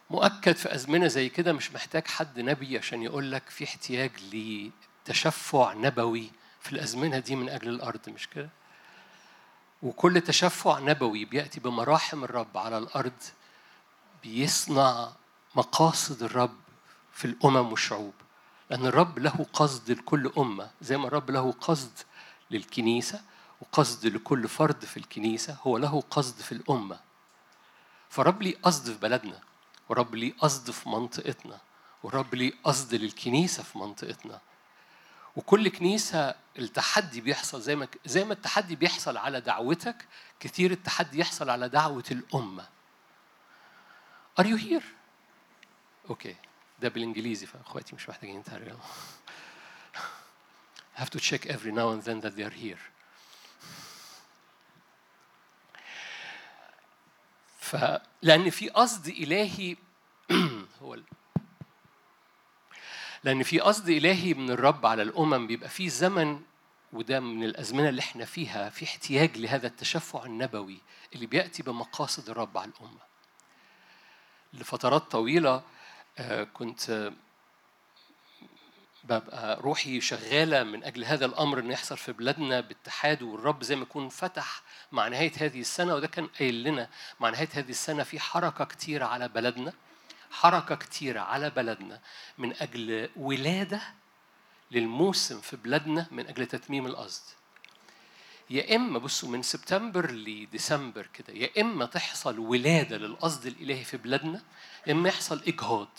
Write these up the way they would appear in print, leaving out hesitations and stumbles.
مؤكد في أزمنة زي كده مش محتاج حد نبي عشان يقول لك في احتياج لتشفع نبوي في الأزمنة دي من أجل الأرض، مش كده؟ وكل تشفع نبوي بيأتي بمراحم الرب على الأرض بيصنع مقاصد الرب في الأمم والشعوب، لأن الرب له قصد لكل أمة. زي ما الرب له قصد للكنيسة وقصد لكل فرد في الكنيسة، هو له قصد في الأمة. فرب لي قصد في بلدنا، ورب لي قصد في منطقتنا، ورب لي قصد للكنيسة في منطقتنا. وكل كنيسة التحدي بيحصل زي ما التحدي بيحصل على دعوتك، كثير التحدي يحصل على دعوة الأمة. Are you here؟ أوكي، ده بالإنجليزي فأخواتي مش محتاجين ترجمة. I have to check every now and then that they are here. لأن في قصد إلهي لأن في قصد إلهي من الرب على الأمم. بيبقى في زمن، وده من الأزمنة اللي احنا فيها، في احتياج لهذا التشفع النبوي اللي بيأتي بمقاصد الرب على الأمة. لفترات طويلة كنت ببقى روحي شغالة من أجل هذا الأمر إنه يحصل في بلادنا باتحاد، والرب زي ما يكون فتح مع نهاية هذه السنة، وده كان قايل لنا مع نهاية هذه السنة في حركة كتيرة على بلدنا، حركة كتيرة على بلدنا من أجل ولادة للموسم في بلادنا، من أجل تتميم القصد. يا إما بصوا من سبتمبر لديسمبر كده، يا إما تحصل ولادة للقصد الإلهي في بلادنا، يا إما يحصل إجهاض.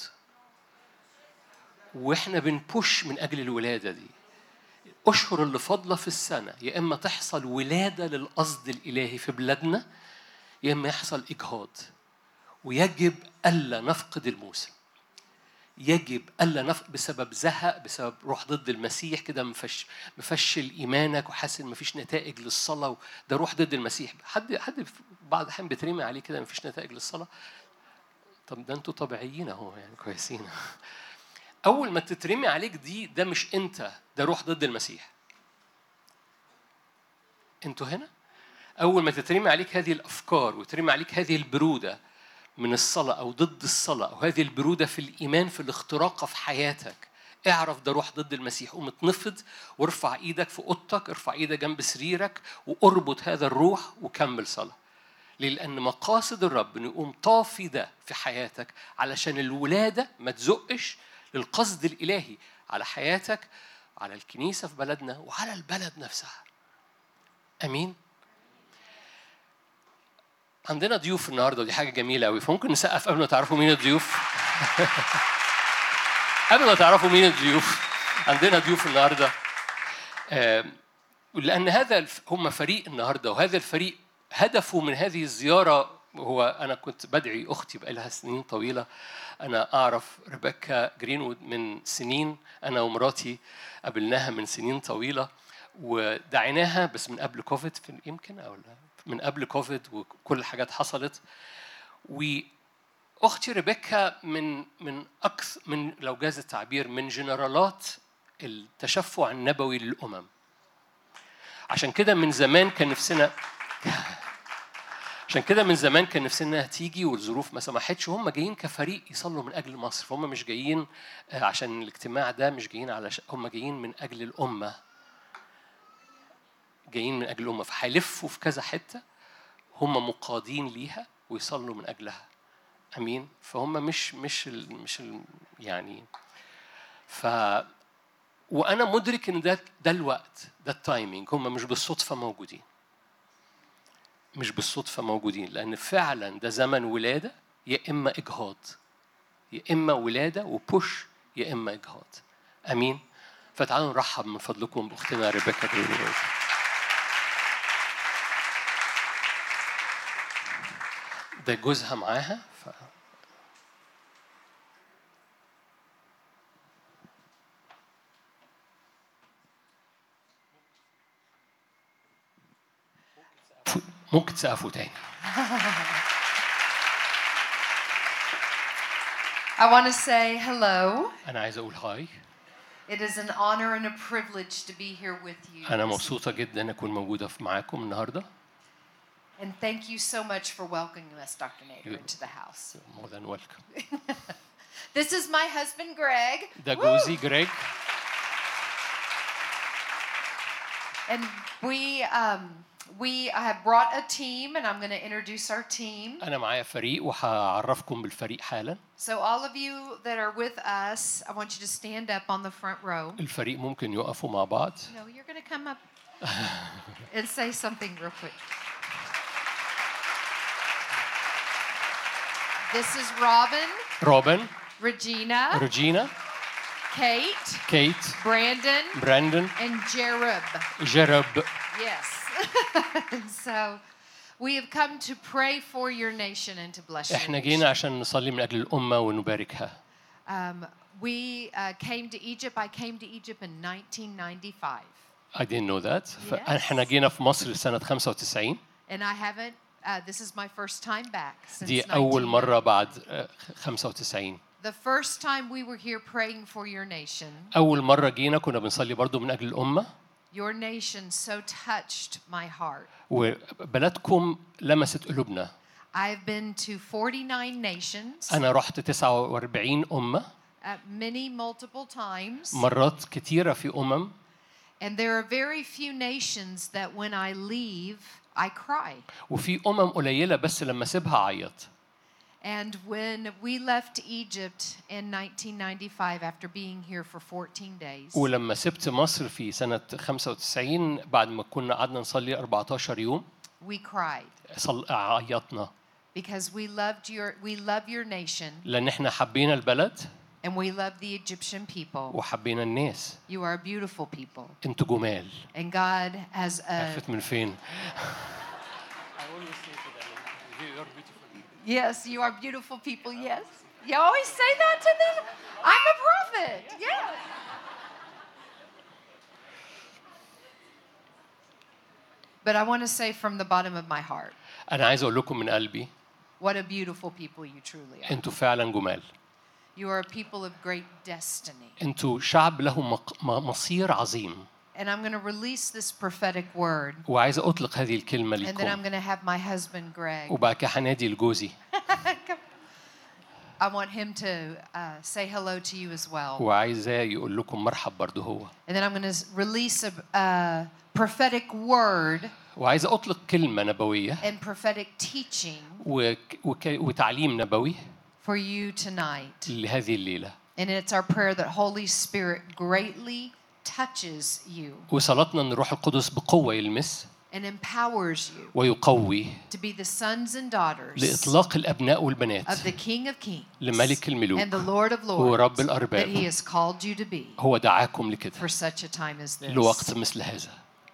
وإحنا بنبوش من أجل الولادة دي. أشهر اللي فاضلة في السنة يا إما تحصل ولادة للقصد الإلهي في بلادنا، يا إما يحصل إجهاض. ويجب ألا نفقد الموسم، يجب ألا نفقد بسبب زهق، بسبب روح ضد المسيح كده، مفشل إيمانك وحاسس مفيش نتائج للصلاة، ده روح ضد المسيح. حد بعض الأحيان بترمي عليه كده مفيش نتائج للصلاة. طب ده أنتوا طبيعيين أهو، يعني كويسين. أول ما تترمي عليك دي، ده مش أنت، ده روح ضد المسيح. أنتوا هنا أول ما تترمي عليك هذه الأفكار وترمي عليك هذه البرودة من الصلاة أو ضد الصلاة، أو هذه البرودة في الإيمان في الاختراق في حياتك، اعرف ده روح ضد المسيح. قوم اتنفض وارفع إيدك في أوضتك، ارفع إيدك جنب سريرك واربط هذا الروح وكمل صلاة. لأن مقاصد الرب إنه يقوم طافي ده في حياتك علشان الولادة ما تزقش للقصد الإلهي على حياتك، على الكنيسة في بلدنا وعلى البلد نفسها. أمين. عندنا ضيوف النهارده ودي حاجه جميله قوي، فممكن نسقف قبل ما تعرفوا مين الضيوف. قبل ما تعرفوا مين الضيوف، عندنا ضيوف النهارده. لان هذا هم فريق النهارده، وهذا الفريق هدفه من هذه الزياره هو، انا كنت بدعي اختي بقالها سنين طويله. انا اعرف ريبيكا جرينوود من سنين، انا ومراتي قابلناها من سنين طويله ودعيناها بس من قبل كوفيد، يمكن او لا من قبل كوفيد وكل الحاجات حصلت. واختي ريبيكا من اكثر من، لو جاز التعبير، من جنرالات التشفع النبوي للامم. عشان كده من زمان كان نفسنا تيجي والظروف ما سمحتش. هم جايين كفريق يصلوا من اجل مصر، فهم مش جايين عشان الاجتماع ده، مش جايين هم جايين من اجل الامه، جايين من اجل الامه. فهيلفوا في كذا حته هم مقادين ليها ويصلوا من اجلها. امين. فهم مش يعني وانا مدرك ان ده الوقت، ده التايمينج. هم مش بالصدفه موجودين، لان فعلا ده زمن ولاده، يا اما اجهاض، يا اما ولاده وبوش، يا اما اجهاض. امين. فتعالوا نرحب من فضلكم باختنا ريبيكا جرينوود. ده جوزها معاها. ممكن تسقفوا تاني. I want to say hello. أنا عايز أقول هاي. It is an honor and a privilege to be here with you. أنا مبسوطة جدا أكون موجودة معاكم النهاردة. And thank you so much for welcoming us, Dr. Nader, into the house. More than welcome. This is my husband, Greg. ده جوزي جريج. And we have brought a team, and I'm going to introduce our team. أنا معايا فريق وهعرفكم بالفريق حالا. So all of you that are with us, I want you to stand up on the front row. الفريق ممكن يقفوا مع بعض. No, you're going to come up and say something real quick. This is Robin, Regina, Kate, Brandon, and Jerub. Yes. So we have come to pray for your nation and to bless إحنا your جينا nation. عشان نصلي من أجل الأمة ونباركها. We came to Egypt. I came to Egypt in 1995. I didn't know that. Yes. إحنا جينا في مصر سنة 95. And I haven't, this is my first time back since دي أول 1990. مرة بعد 95. The first time we were here praying for your nation, أول مرة جينا كنا بنصلي برضو من أجل الأمة. your nation so touched my heart. وبلدكم لمست قلوبنا. I've been to 49 nations, أنا رحت 49 أمة. many multiple times. مرات كتيرة في أمم. And there are very few nations that when I leave, I cry. وفي قليلة بس لما سيبها عيط. And when we left Egypt in 1995 after being here for 14 days, ولما سبت مصر في سنة 95 بعد ما كنا قعدنا نصلي 14 يوم we cried عيطنا. because we love your nation. لأن إحنا حبينا البلد. And we love the Egyptian people. وحبينا الناس. You are beautiful people. أنتوا جمال. And God has a... عرفت من فين؟ Yes, you are beautiful people, yes. You always say that to them? I'm a prophet, yeah. But I want to say from the bottom of my heart, أنا عايز أقول لكم من قلبي. what a beautiful people you truly are. أنتوا فعلا جمال. You are a people of great destiny. أنتوا شعب له مصير عظيم. And I'm going to release this prophetic word. وعايز أطلق هذه الكلمة And then I'm لكم. going to have my husband Greg. وبعد كده هنادي لجوزي. I want him to say hello to you as well. وعايزاه يقول لكم مرحب برضه هو. And then I'm going to release a prophetic word وعايز أطلق كلمة نبوية. and prophetic teaching وتعليم نبوي. for you tonight. لهذه الليلة. And it's our prayer that Holy Spirit greatly touches you وصلاتنا أن الروح القدس بقوة يلمس. and empowers you ويقوي. to be the sons and daughters لإطلاق الأبناء والبنات. of the King of Kings لملك الملوك. and the Lord of هو Lords رب that الأرباب. He has called you to be هو دعاكم لكده. for such a time as this. لوقت مثل هذا.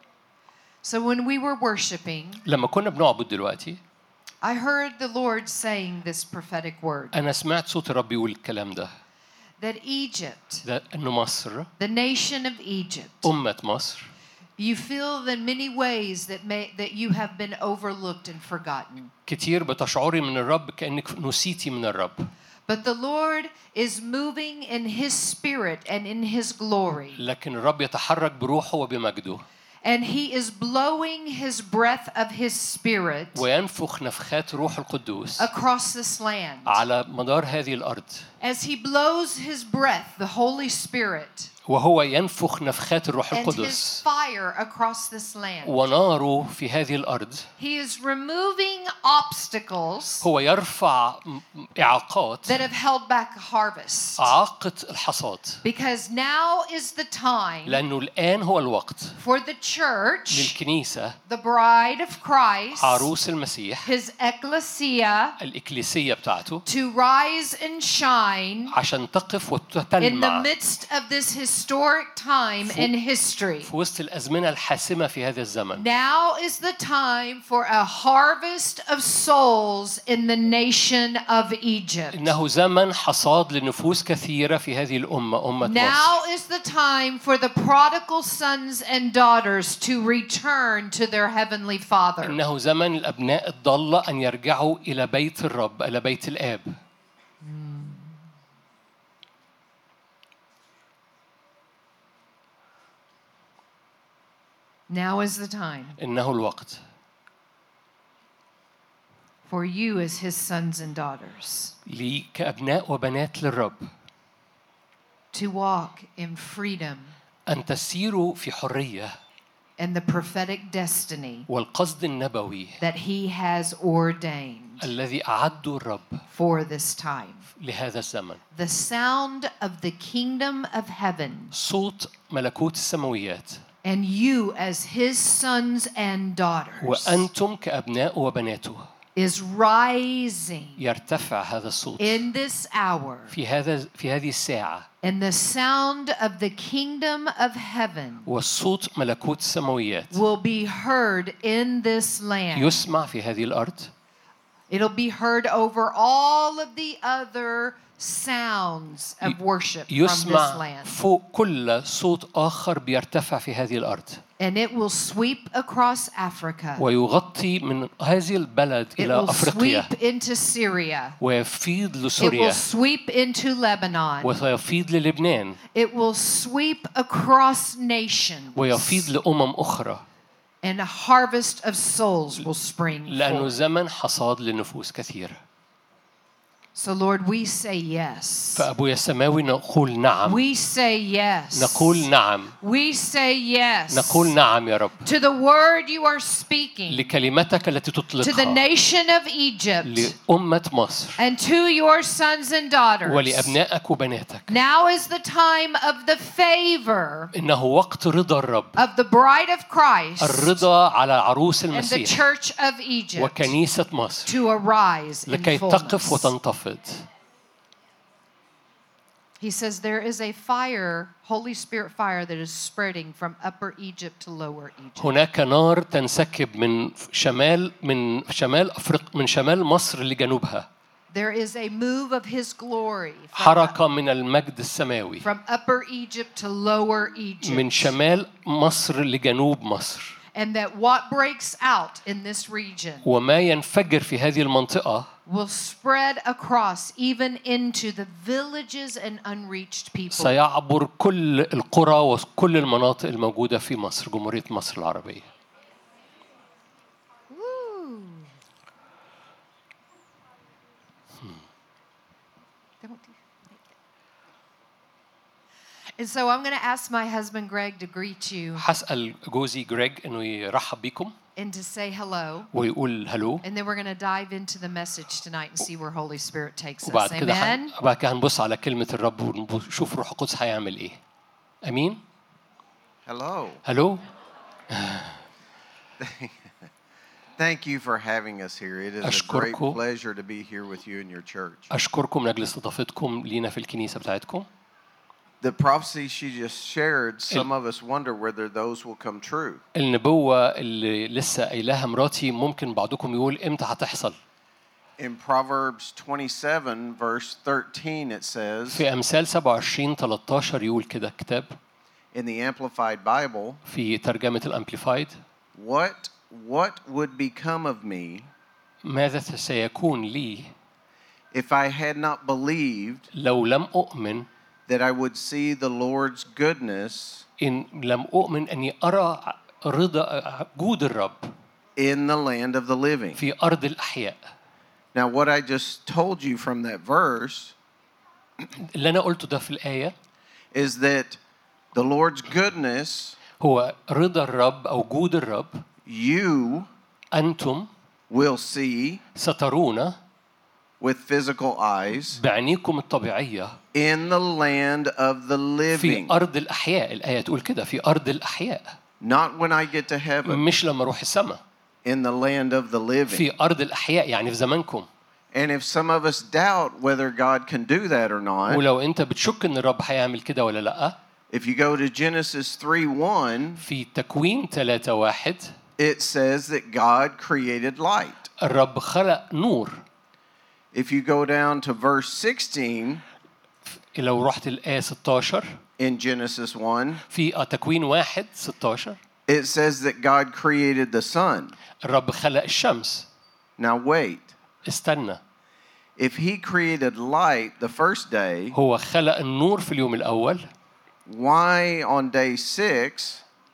So when we were worshiping, لما كنا بنعبد دلوقتي. I heard the Lord saying this prophetic word. أنا سمعت صوت الرب يقول الكلام ده. That Egypt, ده إنه مصر. the nation of Egypt, أمة مصر. you feel in many ways that you have been overlooked and forgotten. كتير بتشعري من الرب كأنك نسيتي من الرب. But the Lord is moving in His Spirit and in His glory. لكن الرب يتحرك بروحه وبمجده. And He is blowing His breath of His Spirit وينفخ نفخات روح القدوس across this land. على مدار هذه الأرض. As He blows His breath, the Holy Spirit, وهو ينفخ نفخات الروح and His القدس fire across this land. وناره في هذه الأرض. He is removing obstacles هو يرفع إعاقات. that have held back harvest. إعاقة الحصاد. Because now is the time لأنه الآن هو الوقت for the church, للكنيسة the bride of Christ, عروس المسيح His ecclesia, الإكليسية بتاعته to rise and shine عشان تقف in the وتتلمع midst of this historic time in history. في وسط الأزمنة الحاسمة في هذا الزمن. Now is the time for a harvest of souls in the nation of Egypt. إنه زمن حصاد لنفوس كثيرة في هذه الأمة أمة Now مصر. is the time for the prodigal sons and daughters to return to their heavenly Father. إنه زمن الأبناء الضالة أن يرجعوا إلى بيت الرب إلى بيت الآب. Now is the time. إنه الوقت. for you as his sons and daughters, لي كأبناء وبنات للرب، to walk in freedom أن تسيروا في حرية and the prophetic destiny والقصد النبوي that he has ordained الذي أعده الرب for this time. لهذا الزمن. The sound of the kingdom of heaven صوت ملكوت السماويات and you as his sons and daughters وأنتم كأبناء وبناته is rising يرتفع هذا الصوت in this hour. في هذه الساعة. And the sound of the kingdom of heaven والصوت ملكوت السماويات will be heard in this land. يسمع في هذه الأرض. It'll be heard over all of the other sounds of worship from this يسمع land. فوق كل صوت آخر بيرتفع في هذه الأرض. And it will sweep across Africa. ويغطي من هذه البلد It إلى will أفريقيا sweep into Syria. ويفيض It لسوريا will sweep into Lebanon. ويفيض للبنان It will sweep across nations. ويفيض لأمم أخرى. And a harvest of souls will spring لأنه forth. زمن حصاد لنفوس كثيرة. So Lord, we say yes. فأبويا السماوي نقول نعم. We say yes. نقول نعم. We say yes. نقول نعم يا رب. To the word you are speaking. لكلمتك التي To the تطلقها nation of Egypt. لأمة مصر And to your sons and daughters. ولأبنائك وبناتك. Now is the time of the favor إنه وقت رضا الرب. of the bride of Christ. الرضا على عروس And the المسيح church of Egypt. وكنيسة مصر To arise in لكي تقف fullness. وتنتفض. He says there is a fire, Holy Spirit fire, that is spreading from Upper Egypt to Lower Egypt. هناك نار تنسكب من شمال مصر لجنوبها. There is a move of His glory حركة من المجد السماوي from Upper Egypt to Lower Egypt. من شمال مصر لجنوب مصر. And that what breaks out in this region وما ينفجر في هذه المنطقة will spread across even into the villages and unreached people. سيعبر كل القرى وكل المناطق الموجودة في مصر، جمهورية مصر العربية. And so I'm going to ask my husband Greg to greet you هسأل جوزي جريج إنه يرحب بيكم and to say hello. ويقول هلو. And then we're going to dive into the message tonight and see where Holy Spirit takes us. وبعد كده Amen. بعد كده هنبص على كلمة الرب ونشوف روح القدس هيعمل إيه. أمين. Hello. هلو. Thank you for having us here. It is a great أشكركم. pleasure to be here with you in your church. أشكركم من أجل استضافتكم لينا في الكنيسة بتاعتكم. The prophecy she just shared, some of us wonder whether those will come true. النبوة اللي لسه قايلها مراتي ممكن بعضكم يقول إمتى هتحصل. In Proverbs 27 verse 13 it says, في أمثال 27:13 يقول كده كتاب in the Amplified Bible, في ترجمة الأمبليفايد. what would become of me ماذا سيكون لي if I had not believed لو لم أؤمن that I would see the Lord's goodness إن لم أؤمن أني أرى رضا جود الرب in the land of the living. في أرض الأحياء. Now what I just told you from that verse اللي أنا قلته ده في الآية is that the Lord's goodness, هو رضا الرب أو جود الرب. you أنتم will see سترون with physical eyes بعينيكم الطبيعية in the land of the في living. أرض الأحياء. الآية تقول كده في أرض الأحياء. Not when I get to heaven, مش لما أروح السماء. in the land of the living. في أرض الأحياء يعني في زمانكم. And if some of us doubt whether God can do that or not, ولو أنت بتشك إن الرب هيعمل كده ولا لأ. if you go to Genesis 3:1, في تكوين 3:1 it says that God created light. الرب خلق نور. If you go down to verse 16 لو رحت الآية 16 in Genesis 1, في تكوين 1:16 it says that God created the sun. الرب خلق الشمس. Now wait. استنى. If he created light the first day, هو خلق النور في اليوم الأول. why on day 6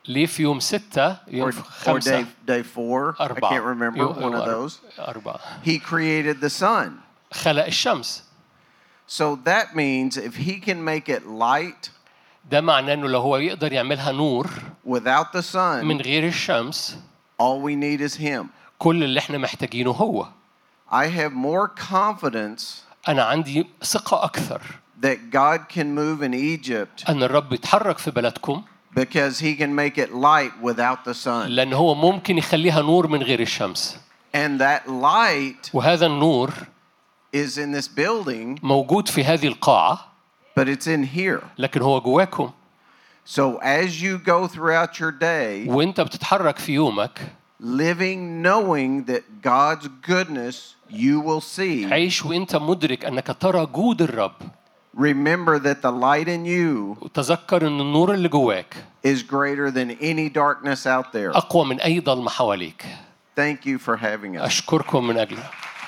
ليه في يوم 6 يوم or 5 day 4. I can't remember one of those. 4 He created the sun. خلق الشمس. So that means if he can make it light ده معناه انه لو هو يقدر يعملها نور without the sun, من غير الشمس all we need is him. كل اللي احنا محتاجينه هو. I have more confidence أنا عندي ثقة أكثر that God can move in Egypt أن الرب يتحرك في بلدكم because he can make it light without the sun. لأن هو ممكن يخليها نور من غير الشمس. And that light وهذا النور is in this building, موجود في هذه القاعة but it's in here. لكن هو جواكم. So as you go throughout your day, وأنت بتتحرك في يومك living knowing that God's goodness you will see, عيش وأنت مدرك أنك ترى جود الرب. remember that the light in you وتذكر أن النور اللي جواك is greater than any darkness out there. أقوى من أي ظلمة حواليك. Thank you for having us. أشكركم من أجله.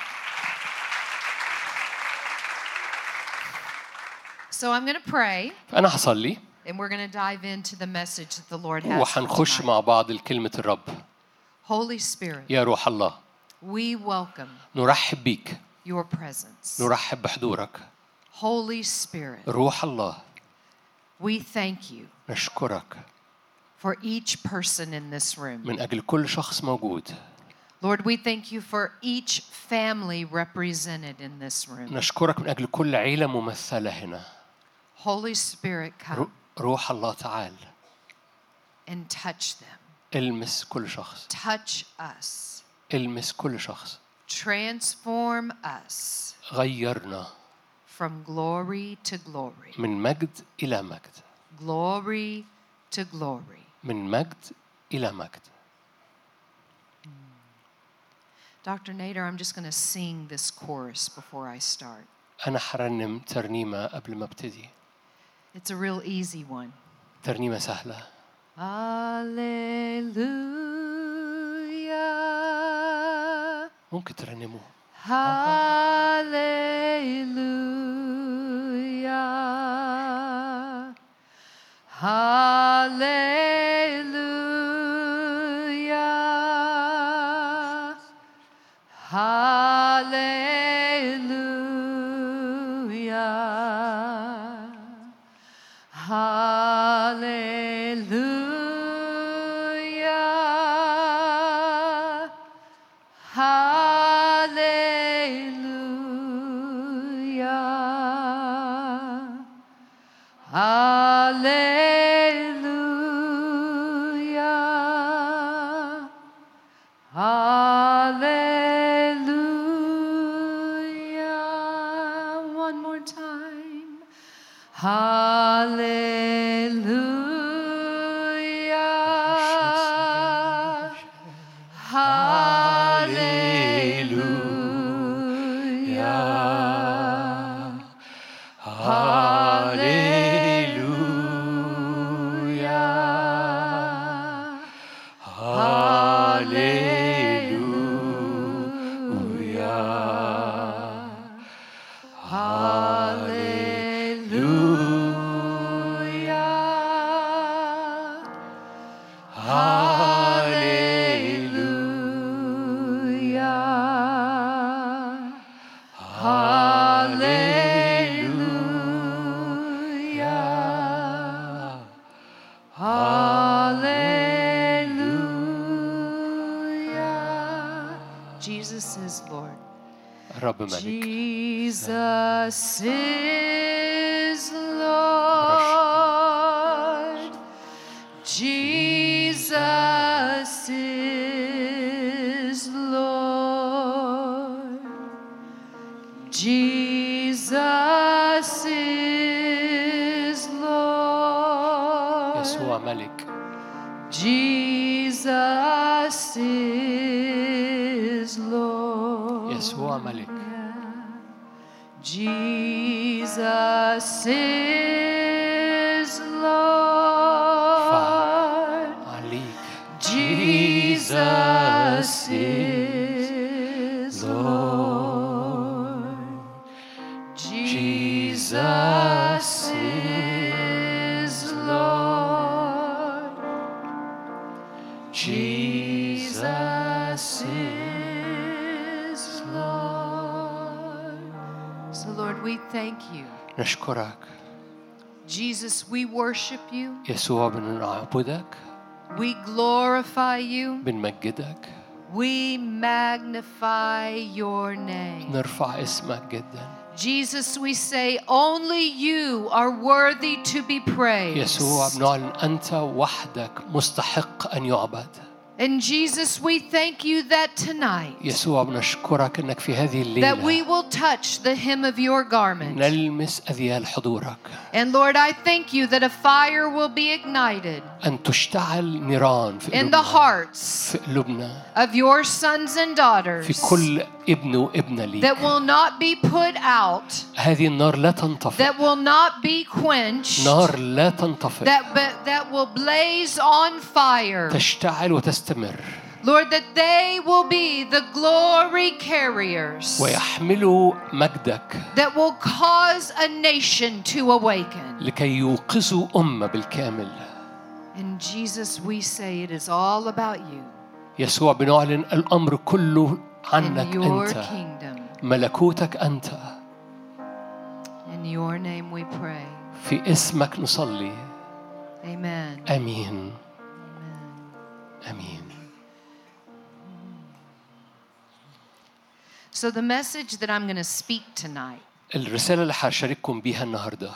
So I'm going to pray, أنا هصلي and we're going to dive into the message that the Lord has for وحنخش tonight. مع بعض لكلمة الرب. Holy Spirit, يا روح الله we welcome نرحب بيك. your presence. نرحب بحضورك. Holy Spirit, روح الله we thank you نشكرك for each person in this room. من أجل كل شخص موجود. Lord, we thank you for each family represented in this room. نشكرك من أجل كل عيلة ممثلة هنا. Holy Spirit, come روح الله تعال and touch them. المس كل شخص. Touch us. المس كل شخص. Transform us غيرنا from glory to glory. من مجد إلى مجد. Glory to glory. من مجد إلى مجد. Dr. Nader, I'm just going to sing this chorus before I start. أنا حرنم ترنيمة قبل ما ابتدي. It's a real easy one. ترنيمة سهلة. Hallelujah. ممكن ترنموه. Hallelujah. Hallelujah. Hallelujah. Hallelujah. Hallelujah. Hallelujah. Hallelujah. One more time. Hallelujah. Hallelujah. Jesus is Lord. الرب ملك. Jesus is Lord. Jesus is Lord. Jesus is Lord. يسوع ملك. Jesus is Lord. يسوع ملك. Jesus is Lord. عليك. Jesus is Lord. Jesus is Lord. we thank you. نشكرك. Jesus, we worship you. يسوع بنعبدك. We glorify you. بنمجدك. We magnify your name. نرفع اسمك جدا. Jesus, we say only you are worthy to be praised. يسوع بنعلن أنت وحدك مستحق أن يعبد. And Jesus, we thank you that tonight يسوع بنشكرك أنك في هذه that we الليلة will touch the hem of your garment. نلمس أذيال حضورك. And Lord, I thank you that a fire will be ignited أن تشتعل نيران في in the قلوبنا. hearts في قلوبنا. of your sons and daughters في كل ابن وابنة ليك. that will not be put out, هذه النار لا تنطفئ. that will not be quenched, نار لا تنطفئ. that will blaze on fire. تشتعل وتستمر. Lord, that they will be the glory carriers ويحملوا مجدك that will cause a nation to awaken. لكي يوقظوا أمة بالكامل. And Jesus, we say it is all about you يسوع بنعلن الأمر كله عنك and your أنت. kingdom. ملكوتك أنت. In your name we pray. في اسمك نصلي. Amen. آمين. آمين. So the message that I'm going to speak tonight الرسالة اللي هشارككم بيها النهاردة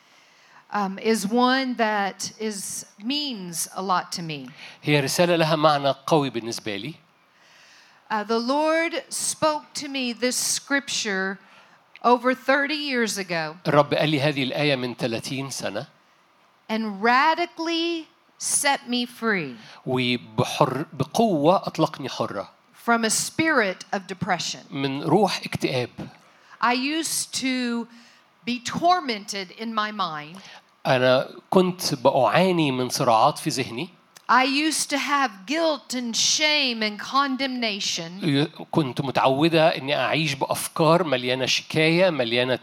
is one that means a lot to me. هي رسالة لها معنى قوي بالنسبة لي. The Lord spoke to me this scripture over 30 years ago الرب قال لي هذه الآية من 30 سنة and radically set me free وبقوة أطلقني حرة from a spirit of depression. من روح اكتئاب. I used to be tormented in my mind. أنا كنت بعاني من صراعات في ذهني. I used to have guilt and shame and condemnation. كنت متعودة إني أعيش بأفكار مليانة شكاية، مليانة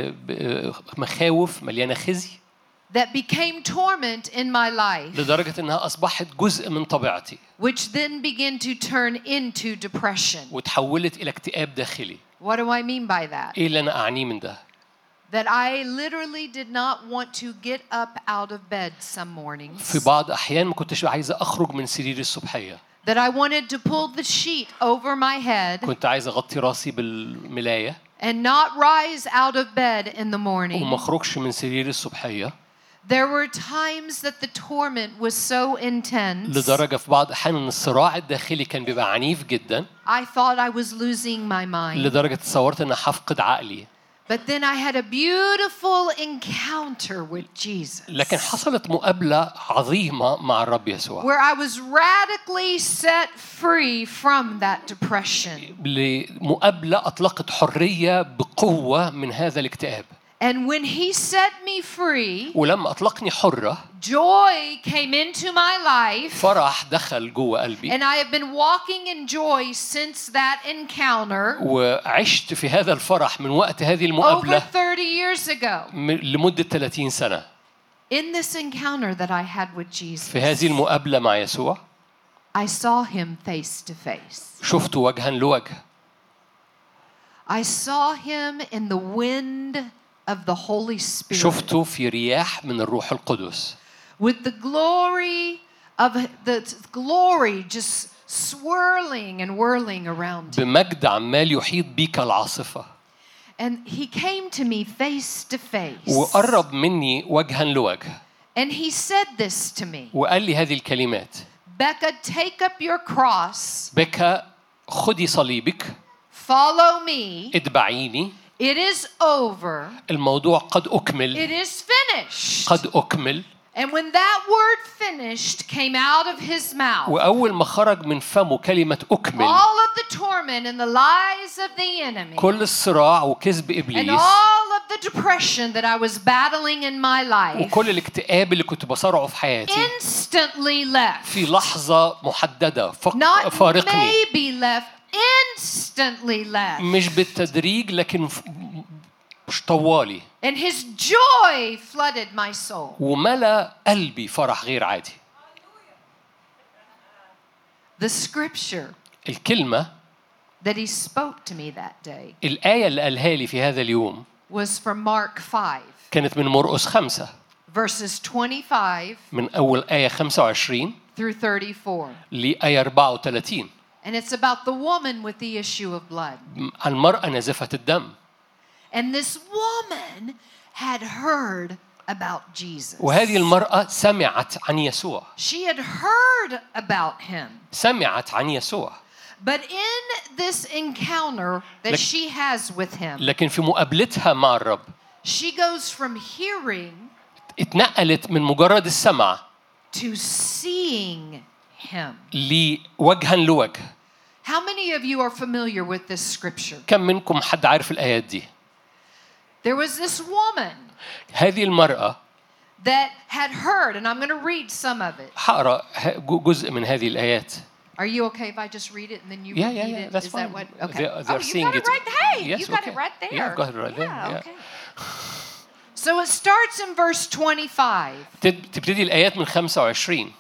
مخاوف، مليانة خزي. That became torment in my life. لدرجة إنها أصبحت جزء من طبيعتي. Which then began to turn into depression. وتحولت إلى اكتئاب داخلي. What do I mean by that? إيه اللي أنا أعنيه من ده؟ That I literally did not want to get up out of bed some mornings. في بعض أحيان ما كنتش عايزة أخرج من سريري الصبحية. That I wanted to pull the sheet over my head. كنت عايزة أغطي راسي بالملاية. And not rise out of bed in the morning. وما أخرجش من سريري الصبحية. There were times that the torment was so intense. لدرجة في بعض أحيان إن الصراع الداخلي كان بيبقى عنيف جدا. I thought I was losing my mind. لدرجة تصورت إن هفقد عقلي. But then I had a beautiful encounter with Jesus. لكن حصلت مقابلة عظيمة مع الرب يسوع. Where I was radically set free from that depression. لمقابلة أطلقت حرية بقوة من هذا الاكتئاب. And when he set me free, ولما أطلقني حرة, joy came into my life. فرح دخل جوه قلبي. And I have been walking in joy since that encounter. وعشت في هذا الفرح من وقت هذه المقابلة. Over 30 years ago. لمدة 30 سنة. In this encounter that I had with Jesus. في هذه المقابلة مع يسوع. I saw him face to face. شفته وجها لوجه. I saw him in the wind of the Holy Spirit. شفته في رياح من الروح القدس. With the glory just swirling and whirling around him. بمجد عمال يحيط بيك العاصفة. And he came to me face to face. وقرب مني وجها لوجه. And he said this to me. وقال لي هذه الكلمات. Becca, take up your cross. بكا خدي صليبك. Follow me. اتبعيني. It is over. الموضوع قد أكمل. It is finished. قد أكمل. And when that word finished came out of his mouth, وأول ما خرج من فمه كلمة أكمل, all of the torment and the lies of the enemy, كل الصراع وكذب and إبليس, all of the depression that I was battling in my life, وكل الاكتئاب اللي كنت بصارعه في حياتي, instantly left. في لحظة محددة Not فارقني. maybe left, instantly left. مش بالتدريج لكن مش طوالي. And his joy flooded my soul. وملأ قلبي فرح غير عادي. The scripture الكلمة that he spoke to me that day الآية اللي قالها لي في هذا اليوم was from Mark 5, كانت من مرقس 5 verses 25 من أول آية 25 through 34. لآية 34. And it's about the woman with the issue of blood. المرأة نازفة الدم. And this woman had heard about Jesus. وهذه المرأة سمعت عن يسوع. She had heard about him. سمعت عن يسوع. But in this encounter that she has with him, لكن في مقابلتها مع الرب she goes from hearing اتنقلت من مجرد السمع to seeing him. لوجها لوجه. How many of you are familiar with this scripture? كم منكم حد عارف الآيات دي؟ There was this woman هذه المرأة that had heard, and I'm going to read some of it. هقرأ جزء من هذه الآيات. Are you okay if I just read it and then you read it? That's Is fine. that what? Okay. They're You seeing got it it. right. Hey, Yes, you got okay. it right there. Yeah, got it right there. Yeah, Yeah. okay. So it starts in verse 25. تبتدي الآيات من 25.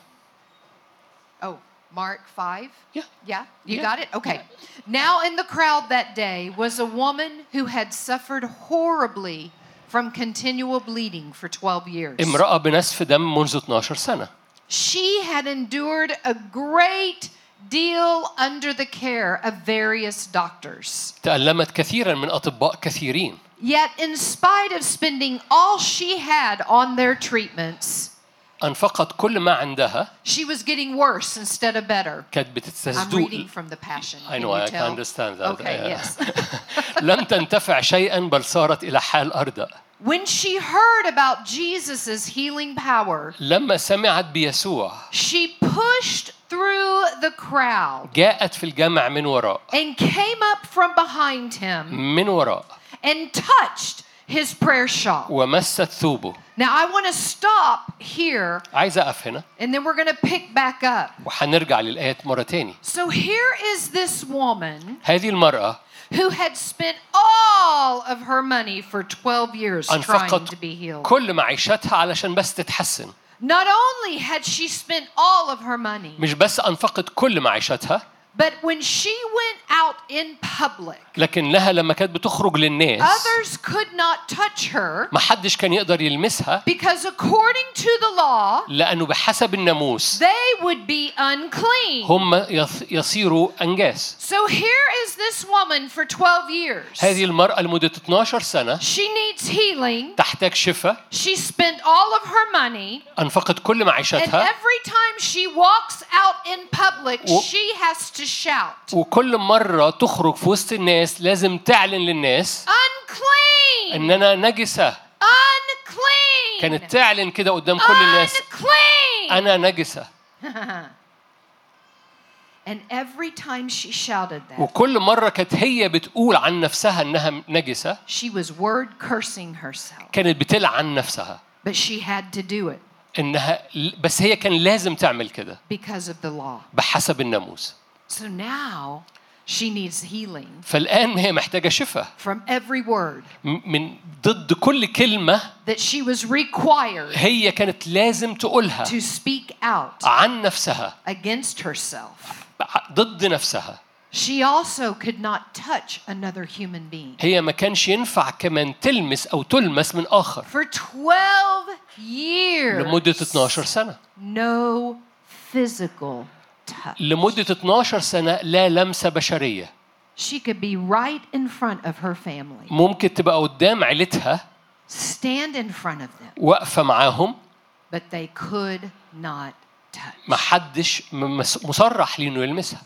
Oh, Mark 5? Yeah. Yeah, you Yeah. got it? Okay. Now in the crowd that day was a woman who had suffered horribly from continual bleeding for 12 years. امرأة بنزف دم منذ 12 سنة. She had endured a great deal under the care of various doctors. تألمت كثيرا من أطباء كثيرين. Yet in spite of spending all she had on their treatments, أنفقت كل ما عندها. she was getting worse instead of better. كانت I'm بتستزدو. reading from the Passion. I Can know, you I tell? can understand that. Okay, yes. لم تنتفع شيئا بل صارت إلى حال أردأ. When she heard about Jesus' healing power, لما سمعت بيسوع she pushed through the crowd جاءت في الجمع من وراء. and came up from behind him من وراء. and touched his prayer shawl. ومست ثوبه. Now I want to stop here عايز أقف هنا and then we're going to pick back up. وحنرجع للآيات مرة تاني. So here is this woman هذه المرأة who had spent all of her money for 12 years trying أنفقت to be healed. كل معيشتها علشان بس تتحسن. Not only had she spent all of her money, مش بس أنفقت كل معيشتها but when she went out in public, لكنها لما كانت بتخرج للناس others could not touch her ما حدش كان يقدر يلمسها because according to the law, لأنه بحسب الناموس they would be unclean. هم يصيروا أنجاس. So here is this woman for 12 years. هذه المرأة لمدة 12 سنة She needs healing. تحتاج شفاء. She spent all of her money. أنفقت كل And معيشتها every time she walks out in public, she has to shout, وكل مرة تخرج في وسط الناس لازم تعلن للناس unclean, إننا نجسة. unclean, كانت تعلن كده قدام كل الناس unclean. أنا نجسة. And every time she shouted that, وكل مرة كانت هي بتقول عن نفسها إنها نجسة she was word cursing herself. كانت بتلعن نفسها But she had to do it إنها بس هي كان لازم تعمل كده because of the law. بحسب الناموس. So now she needs healing فالآن هي محتاجة شفاء from every word من ضد كل كلمة that she was required هي كانت لازم تقولها to speak out عن نفسها against herself. ضد نفسها. She also could not touch another human being. هي ما كانش ينفع كمان تلمس أو تلمس من آخر For 12 years, لمدة 12 سنة. no physical touch. لمدة 12 سنة لا لمسة بشرية. She could be right in front of her family, ممكن تبقى قدام عيلتها stand in front of them, واقفة معاهم but they could not touch. ما حدش مصرح لي إنه يلمسها.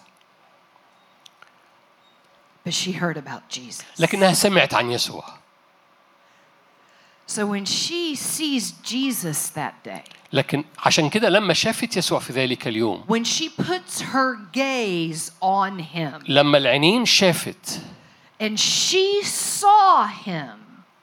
But she heard about Jesus. لكنها سمعت عن يسوع. So when she sees Jesus that day, لكن عشان كده لما شافت يسوع في ذلك اليوم when she puts her gaze on him لما العينين شافت and she saw him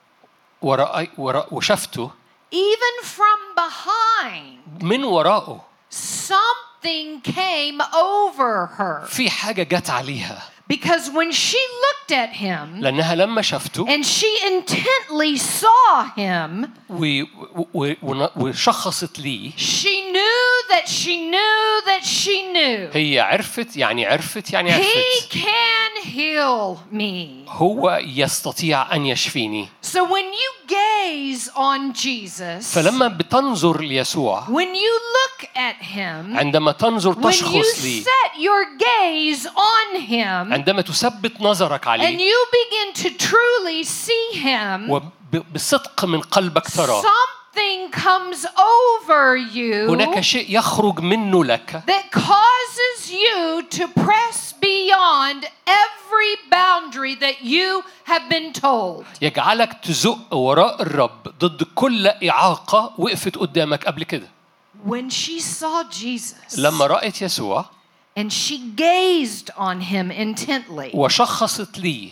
وشافته even from behind, من وراءه something came over her. في حاجة جت عليها. Because when she looked at him لأنها لما شافته and she intently saw him, وشخصت ليه she knew that she knew that she knew. هي عرفت يعني عرفت يعني He عرفت. can heal me. هو يستطيع أن يشفيني. So when you gaze on Jesus, فلما بتنظر ليسوع، when you look at him, عندما تنظر when you تشخص لي، set your gaze on him, عندما تثبت نظرك and عليه you begin to truly see him, وبصدق من قلبك ترى something comes over you هناك شيء يخرج منه لك that causes you to press beyond every boundary that you have been told. يجعلك تزق وراء الرب ضد كل إعاقة وقفت قدامك قبل كده. When she saw Jesus لما رأت يسوع and she gazed on him intently, وشخصت لي،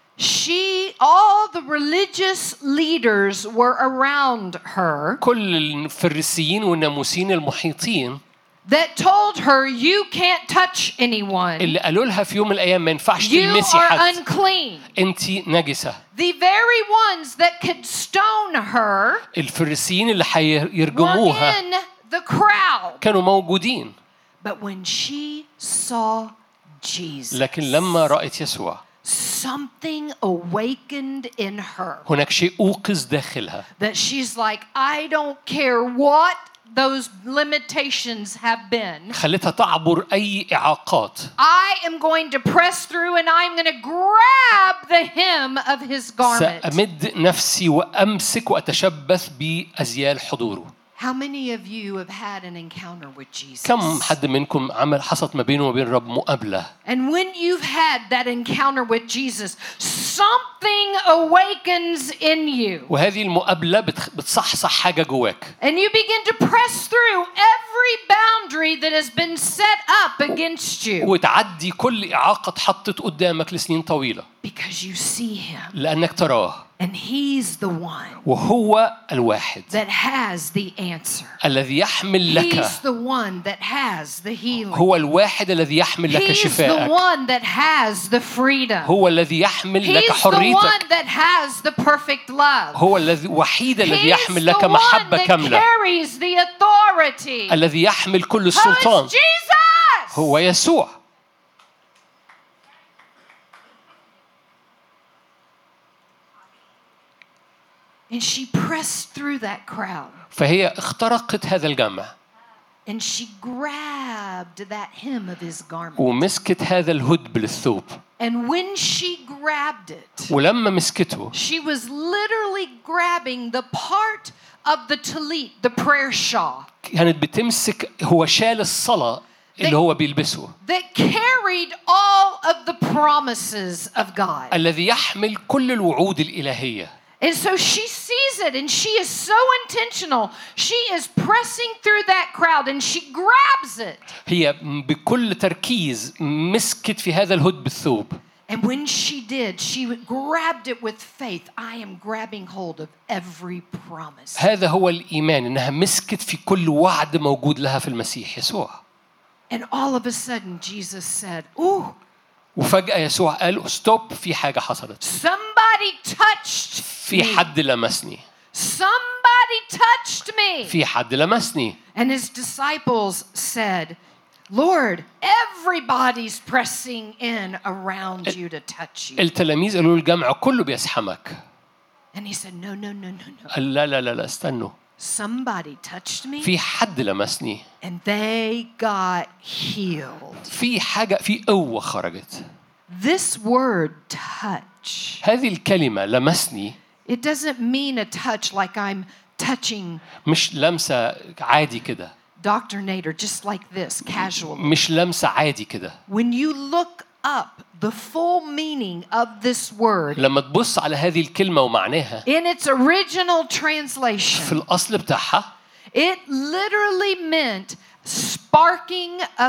all the religious leaders were around her كل الفريسيين والناموسيين المحيطين that told her, you can't touch anyone. اللي قالوا لها في يوم من الأيام ما ينفعش You تلمسي are حد، unclean. أنت نجسة. The very ones that could stone her الفريسيين اللي were حيرجموها in the crowd. كانوا موجودين. But when she saw Jesus, لكن لما رأت يسوع something awakened in her هناك شيء أوقظ داخلها that she's like, I don't care what those limitations have been. خلتها تعبر أي إعاقات. I am going to press through and I'm going to grab the hem of his garment. سأمد نفسي وأمسك وأتشبث بأزيال حضوره. How many of you have had an encounter with Jesus? كم حد منكم حصلت ما بينه وبين الرب مقابلة؟ And when you've had that encounter with Jesus, something awakens in you. وهذه المقابلة بتصحصح حاجة جواك. And you begin to press through every boundary that has been set up against you. وتعدي كل إعاقة اتحطت قدامك لسنين طويلة. Because you see him. لأنك تراه. And he's the one وهو الواحد that has the answer. الذي يحمل لك. He's the one that has the healing. هو الواحد الذي يحمل لك He's the شفاءك. one that has the freedom. هو الذي يحمل لك He's the حريتك. one that has the perfect love. هو الوحيد الذي He's يحمل the لك one محبة that كاملة. carries the authority. الذي يحمل كل Who السلطان is Jesus? هو يسوع. And she pressed through that crowd. فهي اخترقت هذا الجمع. And she grabbed that hem of his garment. ومسكت هذا الهدب للثوب. And when she grabbed it, ولما مسكته she was literally grabbing the part of the talit, the prayer shawl, كانت بتمسك هو شال الصلاة اللي هو بيلبسه that carried all of the promises of God. الذي يحمل كل الوعود الإلهية. And so she sees it and she is so intentional. She is pressing through that crowd and she grabs it. هي بكل تركيز مسكت في هذا الهدب الثوب. And when she did, she grabbed it with faith. I am grabbing hold of every promise. هذا هو الإيمان إنها مسكت في كل وعد موجود لها في المسيح يسوع. And all of a sudden Jesus said, "Ooh." وفجأة يسوع قال ستوب في حاجة حصلت. Somebody touched في me. حد لمسني. Somebody touched me. في حد لمسني. And his disciples said, Lord, everybody's pressing in around you to touch you. التلاميذ قالوا الجمع كله بيسحمك. And he said, no. قال لا استنوا. Somebody touched me. في حد لمسني. And they got healed. في حاجة في قوة خرجت. This word touch. هذه الكلمة لمسني. It doesn't mean a touch like I'm touching مش لمسة عادي كده. Dr. Nader, just like this, casually. مش لمسة عادي كده. When you look up the full meaning of this word لما تبص على هذه الكلمة ومعناها in its original في translation, الأصل بتاعها it literally meant sparking a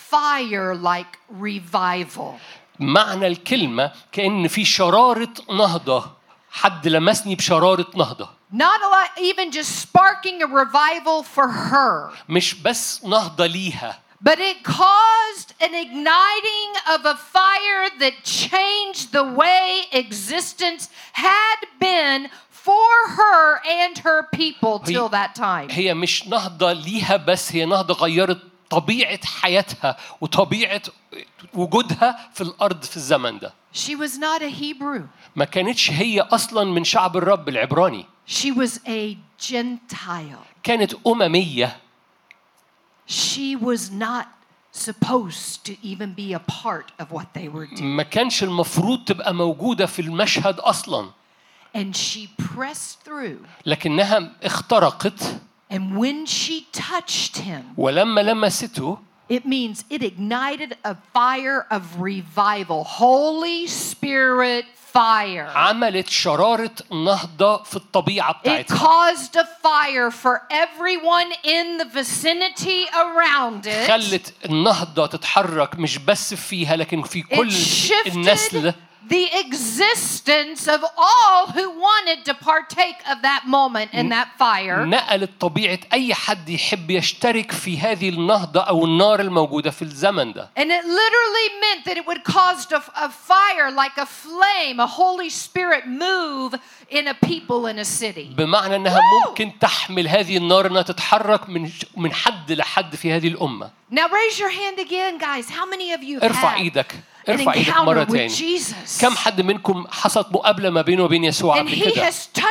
fire like revival. معنى الكلمة كأن في شرارة نهضة. حد لمسني بشرارة نهضة. Not even just sparking a revival for her, مش بس نهضة ليها. but it caused an igniting of a fire that changed the way existence had been for her and her people till that time. هي مش نهضة ليها بس، هي نهضة غيرت طبيعة حياتها وطبيعة وجودها في الأرض في الزمن ده. She was not a Hebrew. ما كانتش هي أصلاً من شعب الرب العبراني. She was a Gentile. كانت أممية. She was not supposed to even be a part of what they were doing. ما كانش المفروض تبقى موجودة في المشهد أصلاً. And she pressed through. لكنها اخترقت. And when she touched him, ولما لمسته, it means it ignited a fire of revival. Holy Spirit fire. عملت شرارة نهضة في الطبيعة It بتاعتها. caused a fire for everyone in the vicinity around it. خلت النهضة تتحرك مش بس فيها لكن في كل النسل. The existence of all who wanted to partake of that moment and that fire. نقلت طبيعة أي حد يحب يشترك في هذه النهضة أو النار الموجودة في الزمن ده. And it literally meant that it would cause a fire like a flame, a Holy Spirit move in a people in a city. بمعنى أنها ممكن تحمل هذه النار أنها تتحرك من حد لحد في هذه الأمة. Now raise your hand again, guys. How many of you ارفع إيدك. ارفع ايدك مرة تاني. كم حد منكم حصلت مقابلة ما بينه وبين يسوع قبل كده؟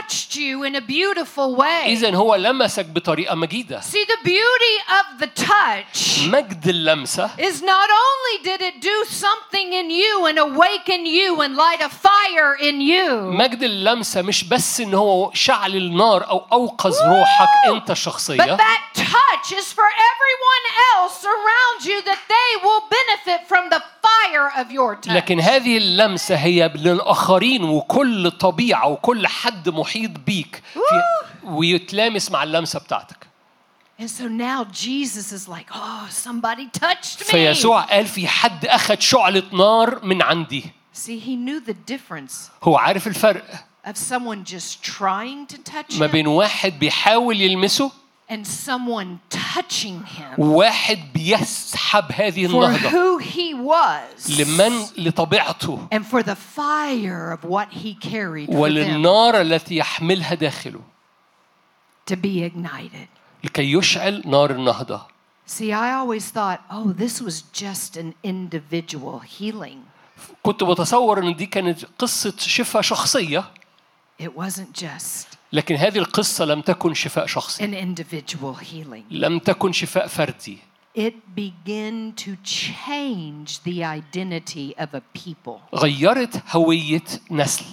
إذن هو لمسك بطريقة مجيدة. See, the beauty of the touch مجد اللمسة is not only did it do something in you and awaken you and light a fire in you. مجد اللمسة مش بس إن هو شعل النار أو أوقظ روحك أنت شخصيا. But that touch is for everyone else around you that they will benefit from the fire of your touch. لكن هذه اللمسة هي للآخرين وكل طبيعة وكل حد محيط بيك ويتلامس مع اللمسة بتاعتك. And so now Jesus is like, oh, somebody touched me. فيسوع قال في حد أخذ شعلة نار من عندي. See, he knew the difference. هو عارف الفرق. Of someone just trying to touch ما him. بين واحد بيحاول يلمسه. And someone touching him. واحد بيسحب هذه النهضة. For who he was. لطبيعته. And for the fire of what he carried. وللنار التي يحملها داخله. To be ignited. لكي يشعل نار النهضة. See, I always thought, oh, this was just an individual healing. كنت بتصور إن دي كانت قصة شفاء شخصية. It wasn't just. لكن هذه القصة لم تكن شفاء شخصي. An individual healing. لم تكن شفاء فردي. It began to change the identity of a people. غيرت هوية نسل.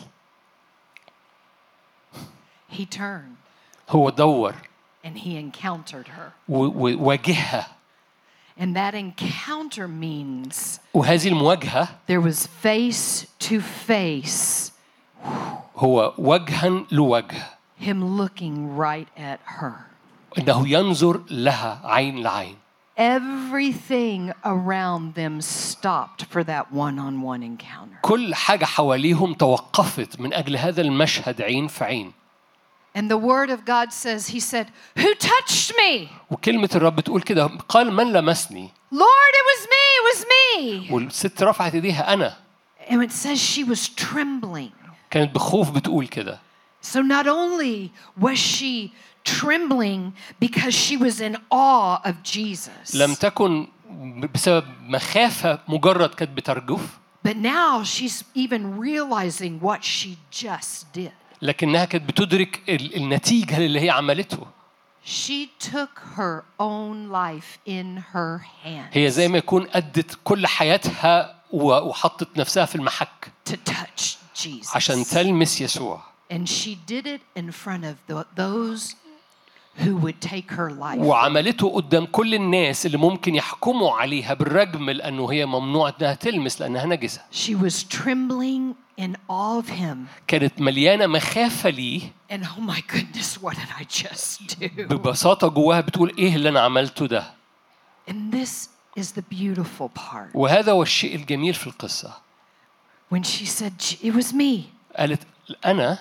He turned. هو دور. And he encountered her. وواجهها. And that encounter means. وهذه المواجهة. There was face to face. هو وجها لوجه. Him looking right at her. إنه ينظر لها عين لعين. Everything around them stopped for that one-on-one encounter. كل حاجة حواليهم توقفت من أجل هذا المشهد عين في عين. And the word of God says, he said, who touched me? وكلمة الرب تقول كده قال من لمسني. Lord, it was me, it was me. والست رفعت ايديها أنا. And it says she was trembling. كانت بخوف بتقول كده. So not only was she trembling because she was in awe of Jesus. لم تكن بسبب مخافة مجرد كانت بترجف. But now she's even realizing what she just did. لكنها كانت بتدرك النتيجة اللي هي عملته. She took her own life in her hands. هي زي ما يكون أدت كل حياتها وحطت نفسها في المحك. To touch Jesus. عشان تلمس يسوع. And she did it in front of those who would take her life. وعملته قدام كل الناس اللي ممكن يحكموا عليها بالرجم لأنه هي ممنوع إنها تلمس لأنها نجسة. She was trembling in awe of him. كانت مليانة مخافة ليه. And oh my goodness, what did I just do? ببساطة جواها بتقول إيه اللي أنا عملته ده. And this is the beautiful part. وهذا هو الشيء الجميل في القصة. When she said it was me. قالت أنا.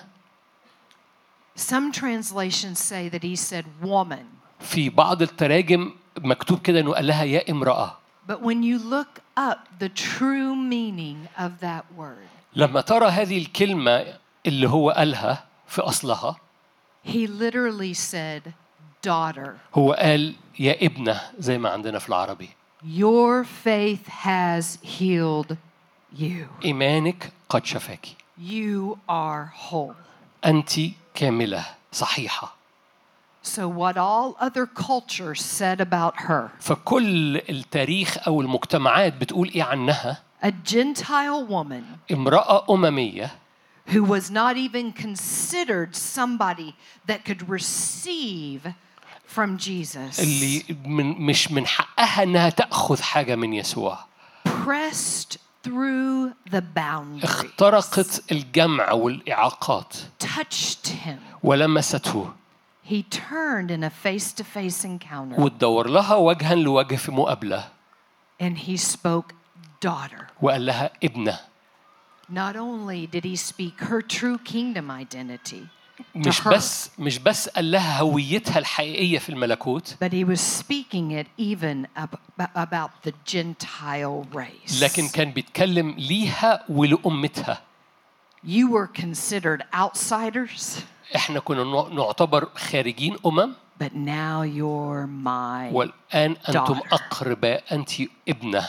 Some translations say that he said woman. في بعض التراجم مكتوب كده إنه قال لها يا امرأة. But when you look up the true meaning of that word. لما ترى هذه الكلمة اللي هو قالها في أصلها he literally said, daughter, هو قال يا ابنة زي ما عندنا في العربي. your faith has healed you. إيمانك قد شفاك. You are whole. أنت كاملة صحيحة. So what all other cultures said about her, فكل التاريخ أو المجتمعات بتقول إيه عنها؟ a Gentile woman امرأة أممية who was not even considered somebody that could receive from Jesus, اللي مش من حقها إنها تأخذ حاجة من يسوع. pressed through the boundaries, اخترقت الجمع والإعاقات touched him. ولمسته He turned in a face-to-face encounter وتدور لها وجها لوجه في مقابلة and he spoke, daughter. وقال لها ابنة. Not only did he speak her true kingdom identity to مش her, مش بس قال لها هويتها الحقيقية في الملكوت، but he was speaking it even about the Gentile race. لكن كان بيتكلم ليها ولأمتها. You were considered outsiders, احنا كنا نعتبر خارجين but now you're my والآن أنتم daughter. أقرباء. أنت ابنة.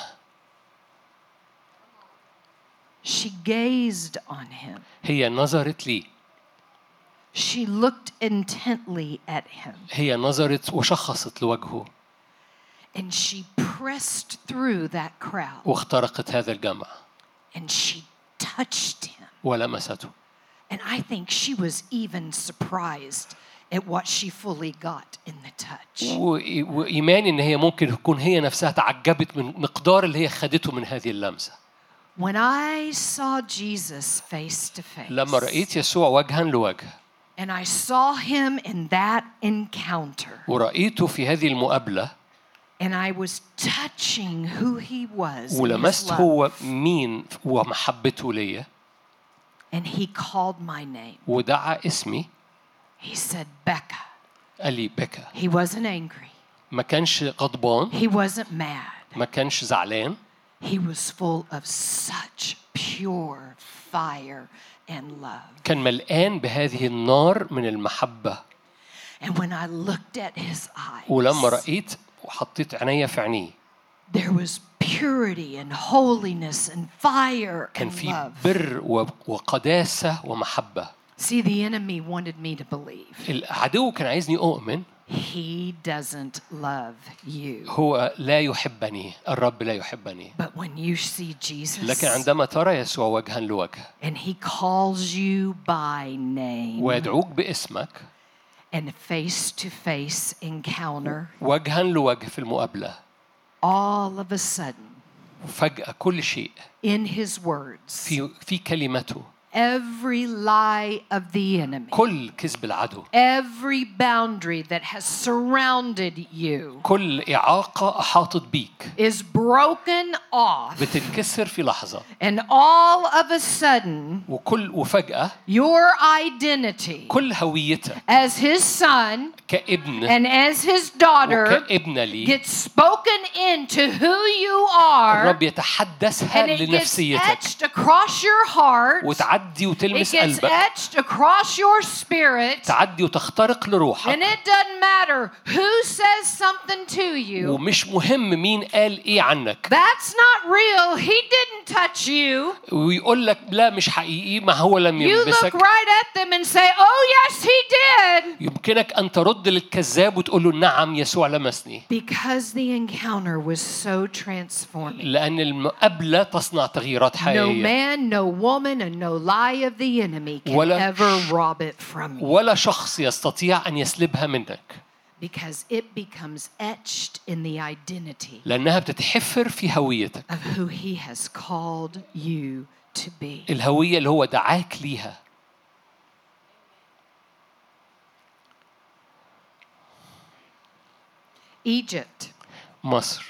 She gazed on him. هي نظرت لي. She looked intently at him. هي نظرت وشخصت لوجهه. And she pressed through that crowd. واخترقت هذا الجمع. And she touched him. ولمسته. And I think she was even surprised at what she fully got in the touch. وإيماني إن هي ممكن تكون هي نفسها تعجبت من مقدار اللي هي خدته من هذه اللمسة. When I saw Jesus face to face, لما رأيت يسوع وجها لوجه and I saw him in that encounter, ورأيته في هذه المقابلة and I was touching who he was, in his ولمست love, هو مين ومحبته ليا and he called my name. ودعا اسمي. He said, Becca. قال لي بكا. He wasn't angry. ما كانش غضبان. He wasn't mad. ما كانش زعلان. He was full of such pure fire and love. كان ملآن بهذه النار من المحبة. And when I looked at his eyes, ولما رأيت وحطيت عينيا في عينيه there was purity and holiness and fire كان and في love. بر وقداسة ومحبة. See, the enemy wanted me to believe العدو كان عايزني أؤمن he doesn't love you. هو لا يحبني. الرب لا يحبني. But when you see Jesus لكن عندما ترى يسوع وجها لوجه and he calls you by name ويدعوك باسمك and face-to-face encounter, وجها لوجه في المقابلة all of a sudden, فجأة كل شيء in his words, في كلمته every lie of the enemy, كل كذب العدو every boundary that has surrounded you كل إعاقة أحاطت بيك is broken off, بتنكسر في لحظة. and all of a sudden وفجأة your identity كل هويتك as his son كابن and as his daughter وكابنة لي gets spoken into who you are, الرب يتحدثها and it gets لنفسيتك etched across your heart, وتعدي it وتلمس gets قلبك. etched across your spirit, تعدي وتخترق لروحك. and it doesn't matter who says something to you. ومش مهم مين قال إيه عنك. That's not real. He didn't touch you. ويقول لك لا مش حقيقي ما هو لم You look يلمسك. right at them and say, oh yes, he did. يمكنك أن ترد للكذاب وتقول له نعم يسوع لمسني. Because the encounter was so transforming. لأن المقابلة تصنع تغييرات No حقيقية. man, no woman, and no lie of the enemy can ولا ever rob it from you. ولا شخص يستطيع أن يسلبها منك. Because it becomes etched in the identity لأنها بتتحفر في هويتك. of who he has called you to be. الهوية اللي هو دعاك ليها. Egypt. مصر.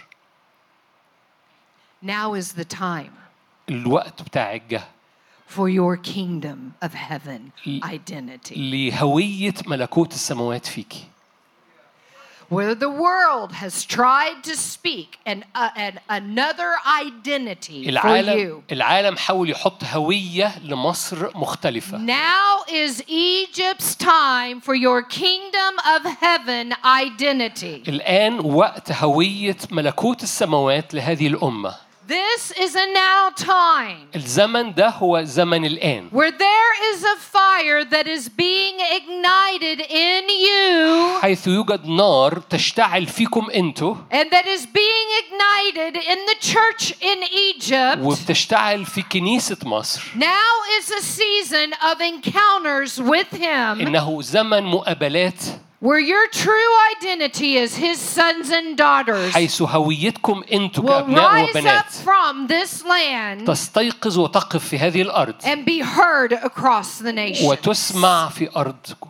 Now is the time الوقت بتاعك جه. for your kingdom of heaven identity. لهوية ملكوت السماوات فيكي. where the world has tried to speak another identity for you. العالم حاول يحط هوية لمصر مختلفة. Now is Egypt's time for your kingdom of heaven identity. الآن وقت هوية ملكوت السماوات لهذه الأمة. This is a now time. الزمن ده هو زمن الآن. Where there is a fire that is being ignited in you. حيث يوجد نار تشتعل فيكم أنتوا. And that is being ignited in the church in Egypt. وبتشتعل في كنيسة مصر. Now is a season of encounters with Him. إنه زمن مقابلات. Where your true identity is His sons and daughters. حيث هويتكم أنتوا will كأبناء rise وبنات. up from this land. تستيقظ وتقف في هذه الأرض. And be heard across the nation. وتسمع في أرضكم.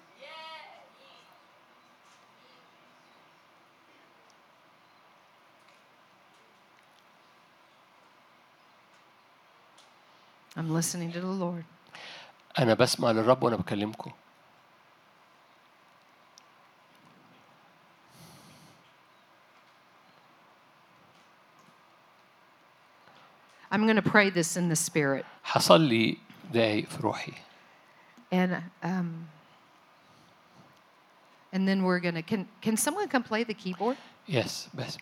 I'm listening to the Lord. أنا بسمع للرب وأنا بكلمكم. I'm going to pray this in the spirit. حصلي دقايق في روحي. And then we're going to can someone come play the keyboard? Yes, بس.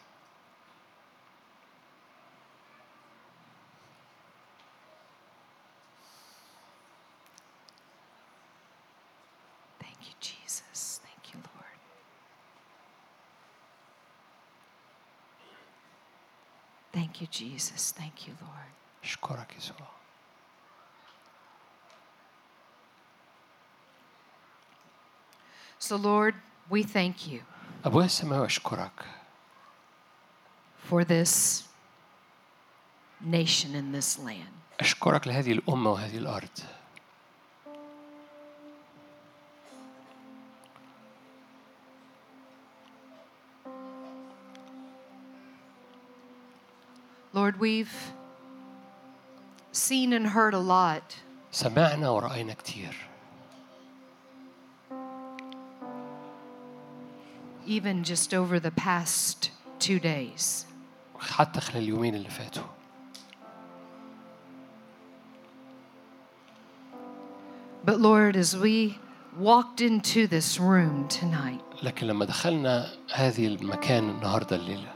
Thank you, Jesus. Thank you, Lord. Thank you, Jesus. Thank you, Lord. أشكرك يسوع. So, Lord, we thank you أبويا السماوي أشكرك for this nation in this land. أشكرك لهذه الأمة وهذه الأرض. Lord, we've seen and heard a lot. سمعنا ورأينا كتير. Even just over the past 2 days. حتى خلال اليومين اللي فاتوا. But Lord, as we walked into this room tonight, لكن لما دخلنا هذه المكان النهاردة الليلة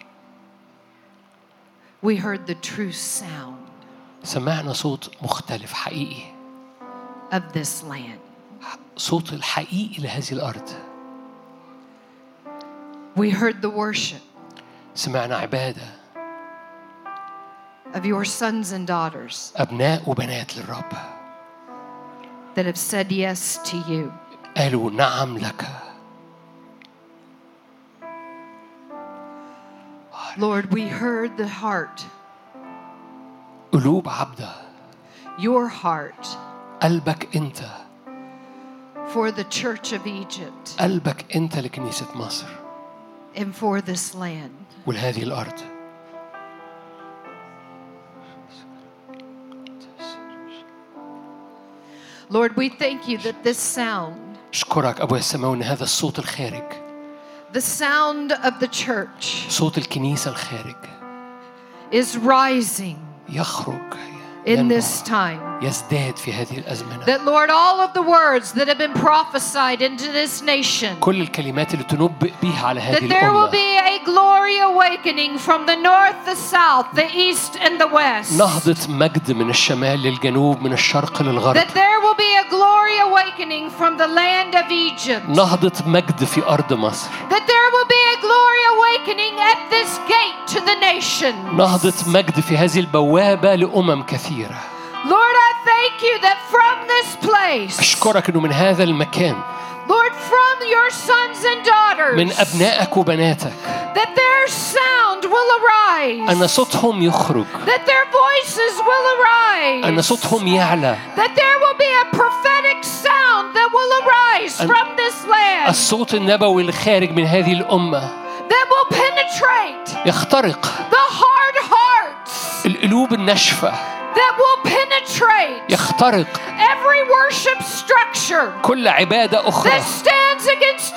we heard the true sound سمعنا صوت مختلف حقيقي. of this land. صوت الحقيقي لهذه الأرض. We heard the worship سمعنا عبادة of your sons and daughters أبناء وبنات للرب that have said yes to you. قالوا نعم لك. Lord, we heard the heart, قلوب عبدة. your heart قلبك أنت. for the church of Egypt قلبك أنت لكنيسة مصر. and for this land. ولهذه الأرض. Lord, we thank you that this sound, أشكرك أبويا السماوي إن هذا الصوت الخارج. the sound of the church, صوت الكنيسة الخارج. is rising يخرج. in this time. يزداد في هذه الأزمنة. That Lord, all of the words that have been prophesied into this nation, كل الكلمات اللي تنبئ بها على هذه that there will الأمة. be a glory awakening from the north, the south, the east, and the west. نهضة مجد من الشمال للجنوب من الشرق للغرب. That there will be a glory awakening from the land of Egypt. نهضة مجد في أرض مصر. That there will be a glory awakening at this gate to the nation. نهضة مجد في هذه البوابة لأمم كثيرة. Lord, I thank you that from this place, أشكرك إنه من هذا المكان. Lord, from your sons and daughters, من أبنائك وبناتك. that their sound will arise. أن صوتهم يخرج. That their voices will arise. أن صوتهم يعلى. That there will be a prophetic sound that will arise from this land. الصوت النبوي الخارج من هذه الأمة. That will penetrate. يخترق. The hard hearts. القلوب الناشفة. That will penetrate. يخترق. Every worship structure. كل عبادة أخرى. That stands against you.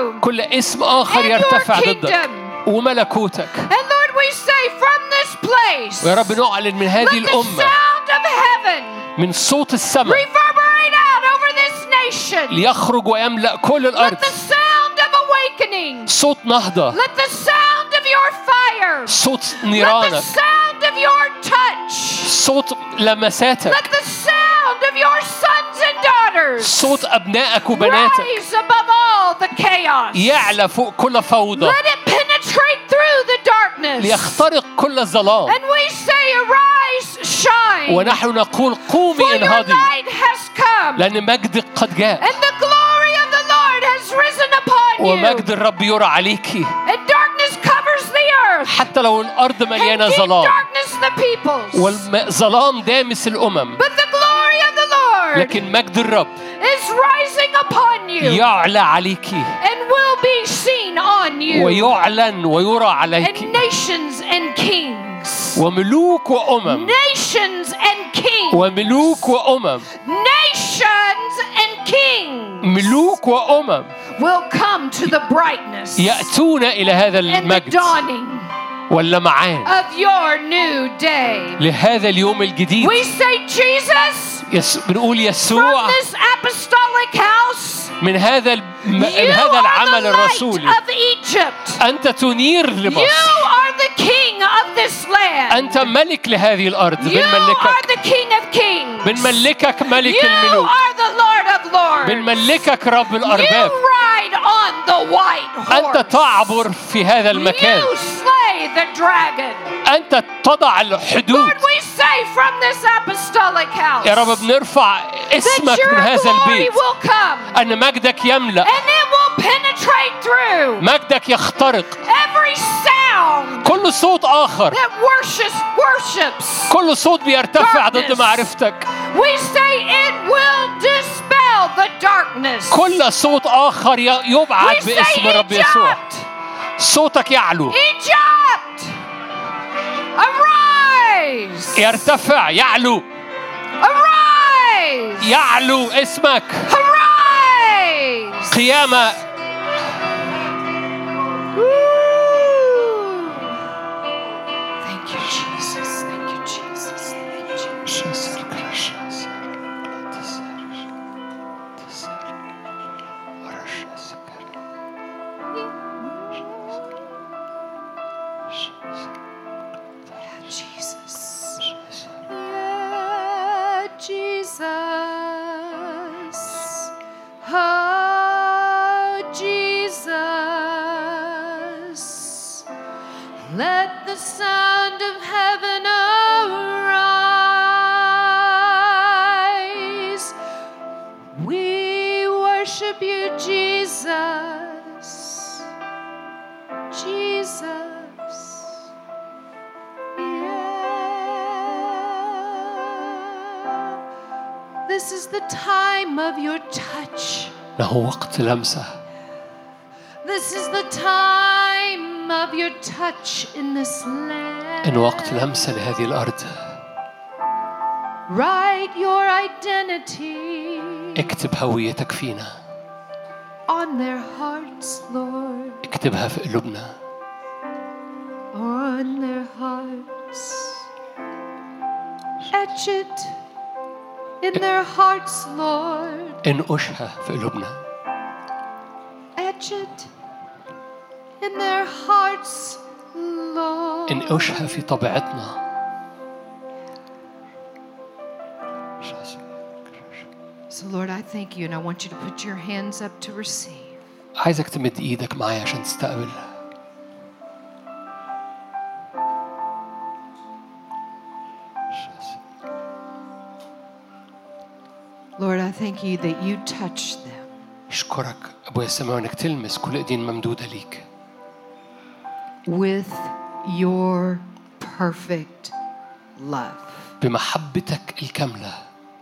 you كل اسم آخر and your يرتفع ضدك kingdom. وملكوتك. And Lord, we say from this place, ويا رب نعلن من هذه let the الأمة sound of heaven من صوت السماء reverberate out over this nation. ليخرج ويملأ كل Let الأرض. the sound of awakening, صوت نهضة، let the sound of your fire, صوت let the نيرانك، sound of your touch, صوت لمساتك، let the sound of your sons and daughters صوت أبنائك وبناتك rise above all the chaos. يعلى فوق كل فوضى Let it penetrate through the darkness. ليخترق كل الظلام. And we say, arise, shine, ونحن نقول for قومي your انهضي light has come, لأن مجدك قد جاء and the glory of the Lord has risen upon you. ومجد الرب يرى عليكي. And darkness covers the earth, حتى لو الأرض and مليانة deep ظلام darkness the peoples. والظلام دامس الأمم، But the glory of the Lord لكن مجد الرب is rising upon you يعلى عليكي and will be seen on you. ويعلن ويرى And عليك. nations and kings, وملوك وأمم nations and kings, وملوك وأمم nations and kings ملوك وأمم will come to the brightness يأتون إلى هذا and the المجد dawning واللمعان of your new day. لهذا اليوم الجديد. We say, Jesus, بنقول from يسوع this apostolic house, من هذا you هذا are العمل the light الرسولي of Egypt. أنت تنير You لمصر. are the king of this land. أنت ملك لهذه الأرض. You are بنملكك the king of kings. بنملكك ملك You الملوك. are the Lord of lords. بنملكك رب You الأرباب. ride on the white أنت horse. تعبر في هذا المكان. You slay the dragon. أنت تضع الحدود. Lord, we say from this apostolic house يا رب بنرفع that اسمك your من هذا glory البيت will come أن مجدك يملأ، and it will penetrate through مجدك يخترق every sound كل صوت آخر، that worships. كل صوت بيرتفع ضد darkness. معرفتك، We say it will dispel the darkness. كل صوت آخر يبعد We say باسم الرب يسوع. Egypt, صوتك يعلو، Egypt, arise, يرتفع، يعلو، arise, يعلو اسمك. arise. قيامة. Woo. Thank you, Jesus. Thank you, Jesus. Thank you, Jesus. Yeah, Jesus. Oh, Jesus. Let the sound of heaven arise. We worship you, Jesus. Jesus. This is the time of your touch. إنه وقت لمسة. This is the time of your touch in this land. إنه وقت لمسة لهذه الأرض. Write your identity اكتب هويتك فينا. on their hearts, Lord. اكتبها في قلوبنا. On their hearts. Etch it in their hearts, Lord. انقشها في قلوبنا. Etch it in their hearts, Lord. انقشها في طبيعتنا. So Lord, I thank you and I want you to put your hands up to receive. عايزك تمد ايدك معايا عشان تستقبل. Lord, I thank you that you touch them. اشكرك ابويا السماوي انك تلمس كل ايدين ممدودة ليك. With your perfect love. بمحبتك الكاملة.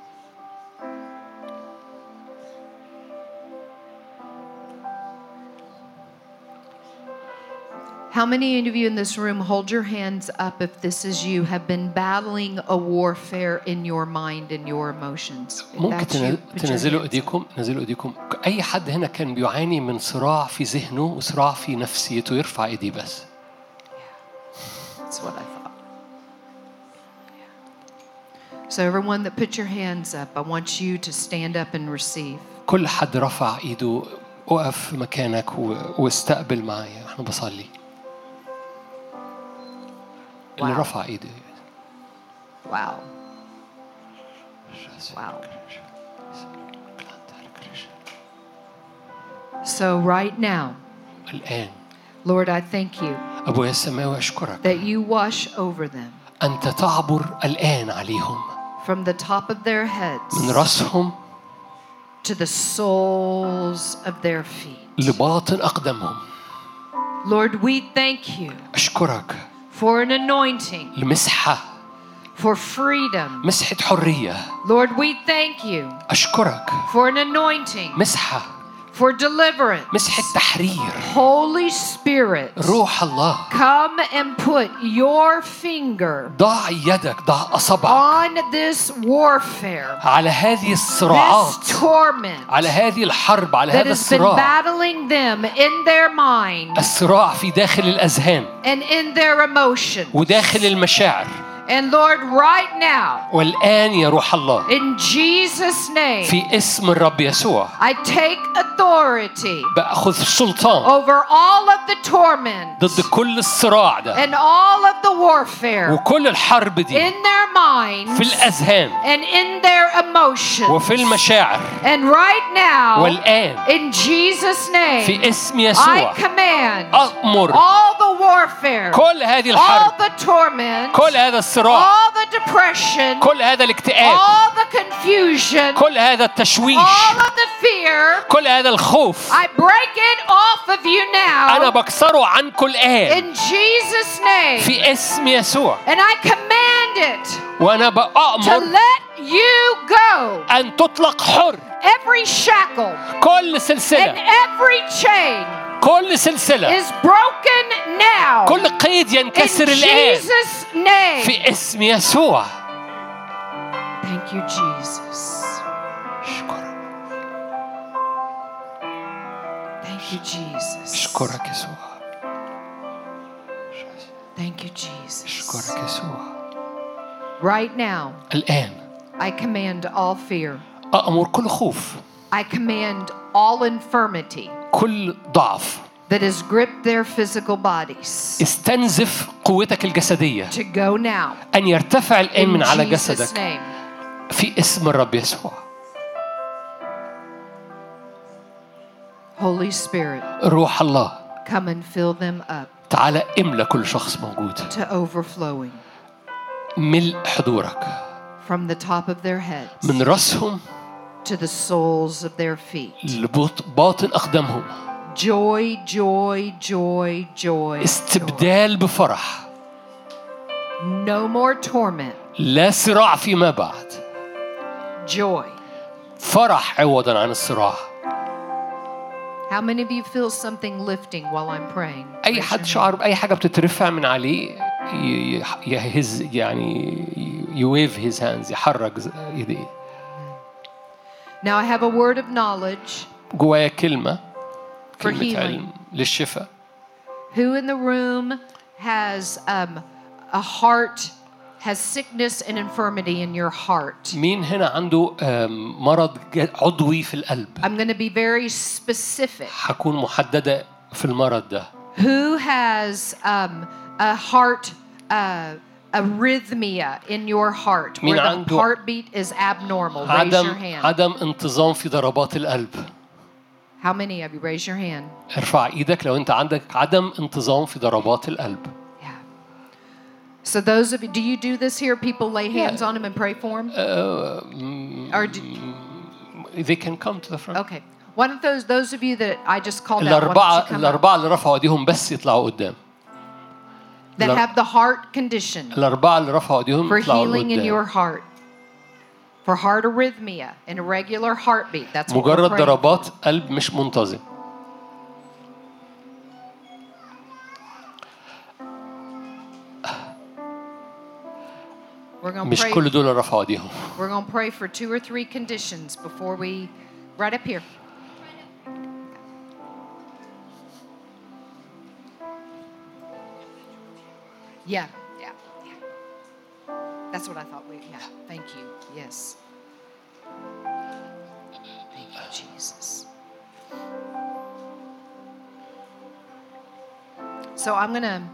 How many of you in this room, hold your hands up if this is you, have been battling a warfare in your mind and your emotions? If ممكن that's you, put your تنزلوا hands up. ايديكم، نزلوا ايديكم. أي حد هنا كان بيعاني من صراع في ذهنه وصراع في نفسيته يرفع إيديه بس. That's what I thought. So everyone that put your hands up, I want you to stand up and receive. كل حد رفع إيده وقف في مكانك واستقبل معايا. إحنا بصلي. اللي رفع إيده. Wow. Wow. So right now, الآن Lord, I thank you أبويا السماوي أشكرك that you wash over them أنت تعبر الآن عليهم from the top of their heads من رأسهم to the soles of their feet. لباطن أقدامهم. Lord, we thank you أشكرك for an anointing, لمسحة for freedom. مسحة حرية. Lord, we thank you أشكرك for an anointing, مسحة for deliverance. مسحة تحرير. Holy Spirit, روح الله come and put your finger ضع يدك ضع أصبعك on this warfare, على هذه الصراعات this torment على هذه الحرب على that هذا has been الصراع battling them in their mind الصراع في داخل الأذهان and in their emotions. وداخل المشاعر. And Lord, right now, والآن يا روح الله in Jesus' name, في اسم الرب يسوع I take authority بأخذ سلطان over all of the torment ضد كل الصراع ده and all of the warfare وكل الحرب دي in their minds في الأذهان and in their emotions. وفي المشاعر. And right now, والآن in Jesus' name, في اسم يسوع I command أأمر all the warfare, كل هذه all الحرب the torment, كل هذا الصراع all the depression, كل هذا الاكتئاب all the confusion, كل هذا التشويش all of the fear. كل هذا الخوف I break it off of you أنا now بكسره عنكم الآن in Jesus' name. في اسم يسوع. And I command it وأنا to بأمر let you go. أن تطلق حر Every shackle كل and سلسلة every chain كل سلسلة is broken now كل قيد in ينكسر الآن Jesus' name. في اسم يسوع. Thank you, Jesus. أشكرك Thank you, Jesus. أشكرك يسوع Thank you, Jesus. أشكرك يسوع. Right now, الآن I command all fear. أأمر كل خوف I command all infirmity كل ضعف that has gripped their physical bodies استنزف قوتك الجسدية to go now أن يرتفع الآن in من على Jesus' جسدك name. في اسم الرب يسوع. Holy Spirit, روح الله come and fill them up تعالى املى كل شخص موجود to overflowing ملء حضورك from the top of their heads من رأسهم to the soles of their feet. لباطن أقدامهم. Joy, joy, joy, joy. استبدال بفرح. No more torment. لا صراع فيما بعد. Joy. فرح عوضا عن الصراع. How many of you feel something lifting while I'm praying? أي حد شعر بأي حاجة بتترفع من عليه يهز يعني يويف his hands يحرك يديه. Now I have a word of knowledge جوايا كلمة healing. علم للشفاء. Who in the room has a heart, has sickness and infirmity in your heart? مين هنا عنده مرض عضوي في القلب؟ I'm going to be very specific. هكون محددة في المرض ده. Who has a heart arrhythmia in your heart where the heartbeat is abnormal? Raise your hand. عدم انتظام في ضربات القلب. How many of you? Raise your hand. ارفع ايدك لو انت عندك عدم انتظام في ضربات القلب. Yeah. So those of you, do you do this here? People lay hands on them and pray for them? Or they can come to the front. Okay. One of those of you that I just called out, الأربعة اللي رفعوا ايديهم بس يطلعوا قدام. That have the heart condition. الأربعة اللي رفعوا ايديهم For يطلعوا healing in your قدام. heart. For heart arrhythmia and irregular heartbeat. That's what we're مجرد praying ضربات for. قلب مش منتظم. مش كل دول رفعوا ايديهم. We're going to pray for 2 or 3 conditions before we right up here. Yeah. That's what I thought. Thank you. Yes. Thank you, Jesus. So I'm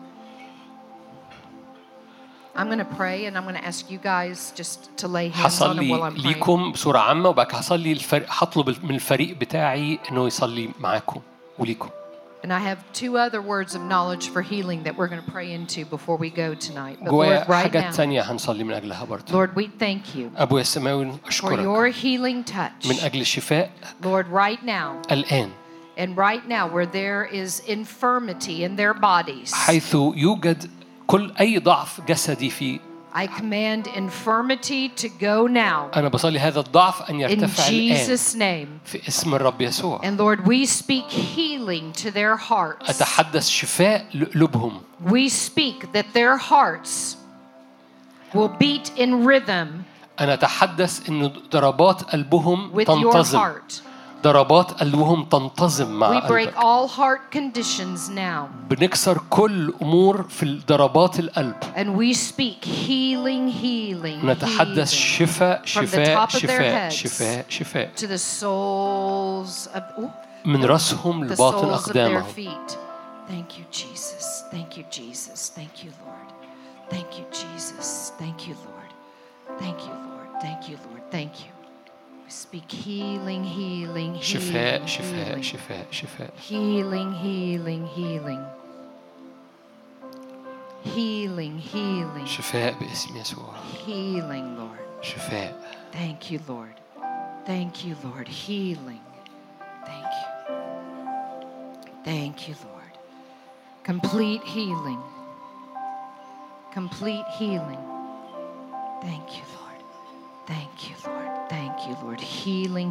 gonna pray, and I'm gonna ask you guys just to lay hands on them while I'm هصلي praying. ليكم بصورة عامة وبعد كده هصلي هطلب من الفريق بتاعي إنه يصلي معاكم وليكم. And I have 2 other words of knowledge for healing that we're going to pray into before we go tonight. But Lord, جوايا right حاجات now, تانية هنصلي من أجلها برضه. Lord, we thank you أبويا السماوي for أشكرك your healing touch. من أجل الشفاء Lord, right now, الآن and right now where there is infirmity in their bodies, حيث يوجد كل أي ضعف جسدي في I command infirmity to go now أنا بصلي هذا الضعف أن in يرتفع الآن Jesus' name. في اسم الرب يسوع. And Lord, we speak healing to their hearts. أتحدث شفاء لقلوبهم. We speak that their hearts will beat in rhythm أنا أتحدث إنه ضربات قلبهم with your تنتظم. heart. ضربات قلبهم تنتظم مع We break قلبك. all heart conditions now. بنكسر كل أمور في ضربات القلب. And we speak healing. نتحدث شفاء From the top of their شفاء heads شفاء شفاء to the soles of من رأسهم the لباطن soles of their أقدامهم. feet. Thank you, Jesus. Thank you, Jesus. Thank you, Lord. Thank you, Jesus. Thank you, Lord. Thank you, Lord. Thank you, Lord. Thank you. We speak healing. شفاء شفاء شفاء شفاء. Healing. شفاء باسم يسوع. Healing, Lord. شفاء. Thank you, Lord. Thank you, Lord. Healing. Thank you. Thank you, Lord. Complete healing. Complete healing. Thank you, Lord. Thank you, Lord. Thank you, Lord. Healing.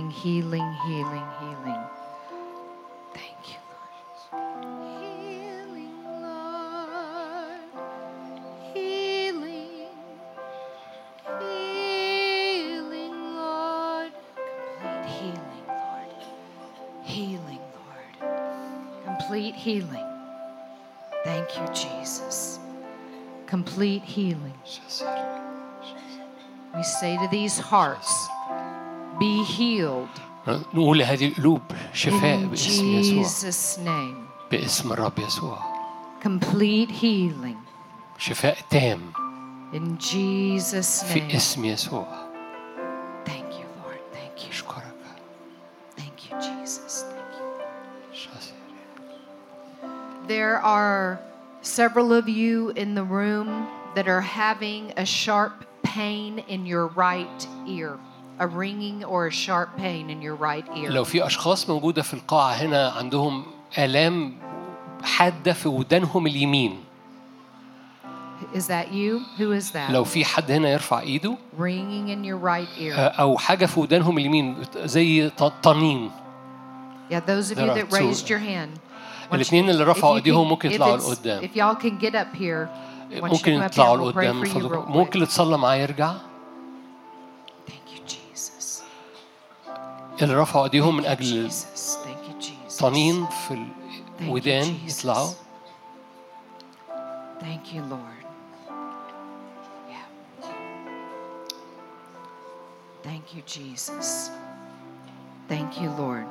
Thank you, Lord. Healing, Lord. Healing, Lord. Complete healing, Lord. Healing, Lord. Complete healing. Thank you, Jesus. Complete healing. We say to these hearts, be healed نقول هذه القلوب شفاء in باسم يسوع. Jesus' name. باسم الرب يسوع. Complete healing شفاء تام in Jesus' في name. اسم يسوع. Thank you, Lord. Thank you. أشكرك. Thank you, Jesus. Thank you. شاسر. There are several of you in the room that are having a sharp pain in your right ear, a ringing or a sharp pain in your right ear. لو في أشخاص موجودة في القاعة هنا عندهم آلام حادة في ودانهم اليمين. Is that you? Who is that? لو في حد هنا يرفع إيده. Ringing in your right ear. أو حاجة في ودانهم اليمين زي طنين. Yeah, those of you that raised your hand. الاثنين اللي رفعوا ايديهم ممكن يطلعوا لقدام. If y'all can get up here. ممكن يطلعوا لقدام. ممكن تصلى معايا يرجع. Thank you, Jesus. اللي رفعوا ايديهم من أجل Thank you, Jesus. طنين في الودان يطلعوا. Thank you, Lord. Yeah. Thank you, Jesus. Thank you, Lord.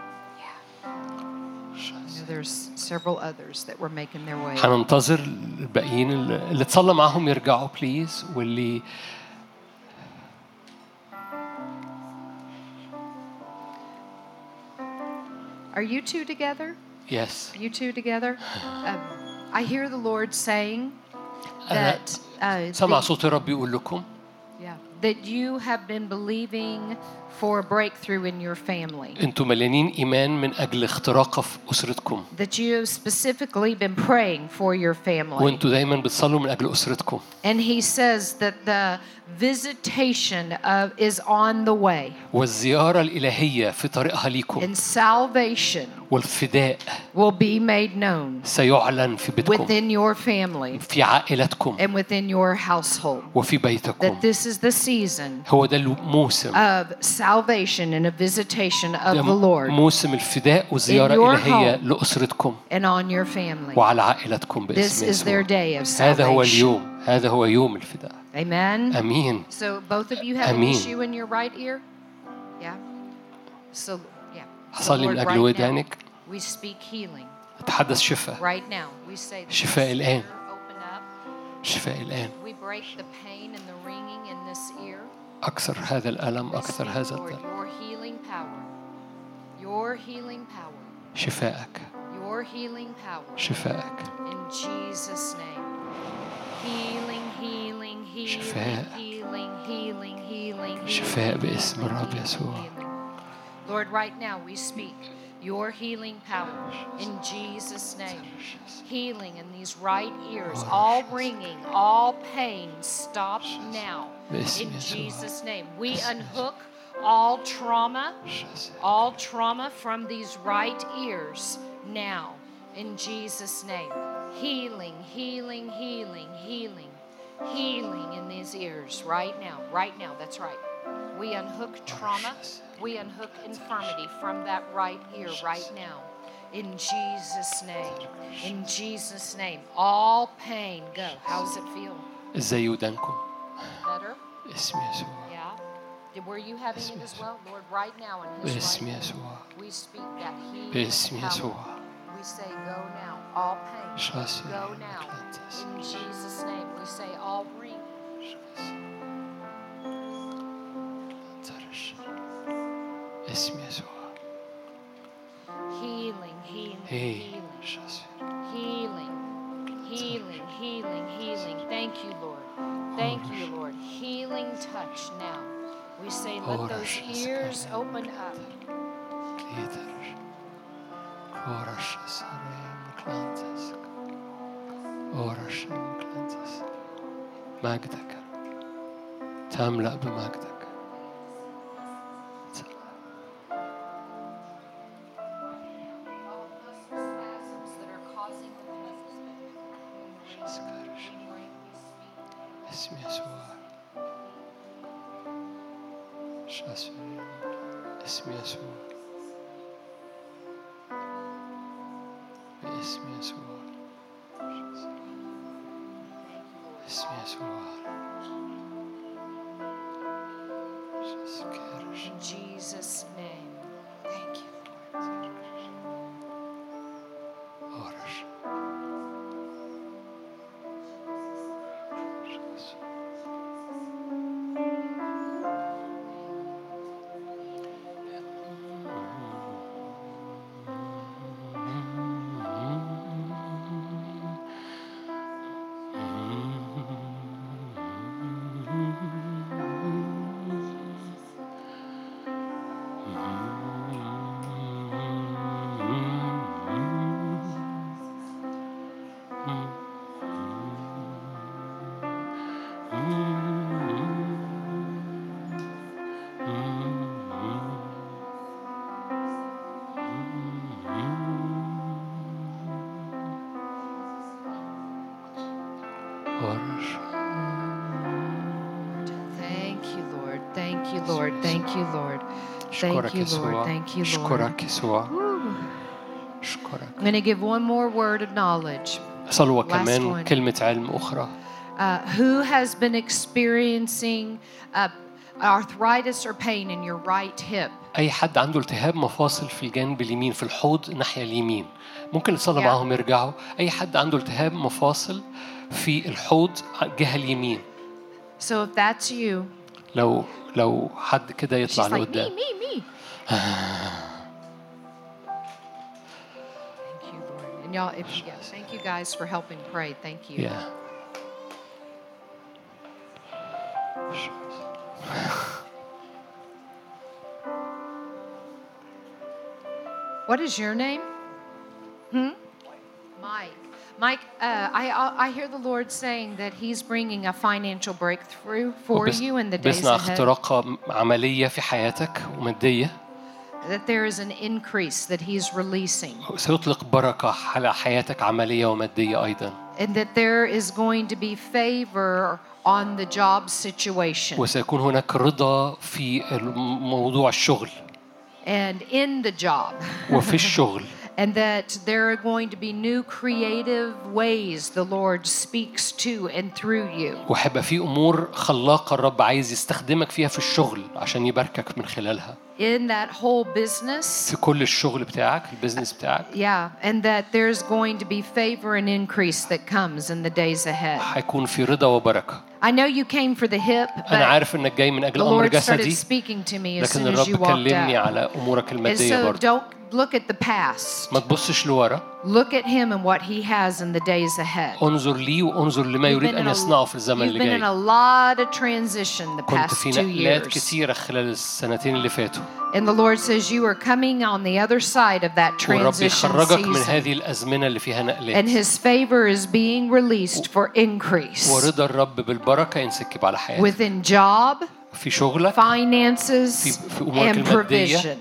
There's several others that were making their way. هننتظر الباقيين اللي تصلى معاهم يرجعوا بليز واللي Are you two together? Yes. You two together? I hear the Lord saying that سمع صوت الرب يقول لكم that you have been believing for a breakthrough in your family. أنتم مليانين إيمان من أجل اختراق في أسرتكم. That you have specifically been praying for your family. وأنتم دايما بتصلوا من أجل أسرتكم. And he says that the visitation is on the way. والزيارة الإلهية في طريقها ليكم. And salvation والفداء will be made known سيعلن في بيتكم. within your family. في عائلتكم. And within your household. وفي بيتكم. That this is the season هو ده الموسم. of salvation and a visitation of ده the Lord موسم الفداء وزيارة in your إلهية home. لأسرتكم and on your family. وعلى عائلتكم This باسم is their يسوع. day of هذا هو salvation. اليوم، هذا هو يوم الفداء. Amen. أمين. So both of you have an أمين. issue in your right ear? Yeah. So yeah. So أصلي Lord, من أجل right ودانك. now, we speak healing. أتحدث شفاء. Right now, we say that شفاء this الآن. ear open up. شفاء الآن. We break the pain and the ringing in this ear. أكثر هذا الألم، We أكثر speak, هذا Lord, الدم. your healing power. Your healing power. شفاءك. Your healing power. شفاءك. In Jesus' name. Healing, healing, healing, شفاء. healing, healing, healing, شفاء healing, باسم الرب healing, يسوع. healing. Lord, right now we speak your healing power in Jesus' name. Healing in these right ears, all ringing, all pain, stop now. In Jesus' name. We unhook all trauma from these right ears now. In Jesus' name. Healing, healing, healing, healing, healing in these ears right now, that's right. We unhook trauma, we unhook infirmity from that right ear right now. In Jesus' name, all pain go. How does it feel? إزاي ودانكم؟ Better? اسم يسوع. Yeah. Were you having it as well? Lord, right now in his باسم right يسوع. ear, we speak that healing باسم power. يسوع. We say go now, all pain. شاسي. Go now. In Jesus' name, we say all ring. اسم يسوع. Healing, healing, healing. Healing, healing, healing, healing. Thank you, Lord. Thank you, Lord. Healing touch now. We say let those ears open up. مجدك تملأ بمجدك. اسم يسوع. اسم يسوع. باسم يسوع. اسم يسوع. In Jesus' name. Thank you, Lord. Thank you, Lord. Thank you, Lord. Thank you, Lord. Thank you, Lord. Thank you, Lord. I'm going to give one more word of knowledge. صلوة كمان كلمة علم أخرى. Who has been experiencing arthritis or pain in your right hip? أي حد عنده التهاب مفاصل في الجانب اليمين في الحوض الناحية اليمين ممكن نصلي معاهم يرجعوا. أي حد عنده التهاب مفاصل في الحوض الجهة اليمين. So if that's you. لو حد كده يطلع لقدام. Me. Thank you, Lord. And y'all, thank you guys for helping pray. Thank you. Yeah. What is your name? Mike, I hear the Lord saying that He's bringing a financial breakthrough for you in the days بيصنع ahead. اختراق عملية في حياتك ومادية. That there is an increase that He's releasing. سيطلق بركة على حياتك عملية ومادية أيضا. And that there is going to be favor on the job situation. وسيكون هناك رضا في موضوع الشغل. And in the job. وفي الشغل. And that there are going to be new creative ways the Lord speaks to and through you. وهيبقى في أمور خلاقة الرب عايز يستخدمك فيها في الشغل عشان يباركك من خلالها. In that whole business. في كل الشغل بتاعك، البيزنس بتاعك. Yeah, and that there's going to be favor and increase that comes in the days ahead. هيكون في رضا وبركة. I know you came for the hip, but أنا عارف إنك جاي من أجل أمر جسدي. لكن الرب كلمني على أمورك المادية برضه. Look at the past. ما تبصش لورا. Look at him and what he has in the days ahead. انظر لي وانظر لما يريد أن يصنعه في الزمن اللي جاي. You've been in a lot of transition the past 2 years. كنت في نقلات كثيرة خلال السنتين اللي فاتوا. And the Lord says you are coming on the other side of that transition يخرجك من هذه الأزمنة اللي فيها نقلات. And His favor is being released for increase. ورضا الرب بالبركة ينسكب على حياتك. Within job. في شغلك. Finances. في أمورك المادية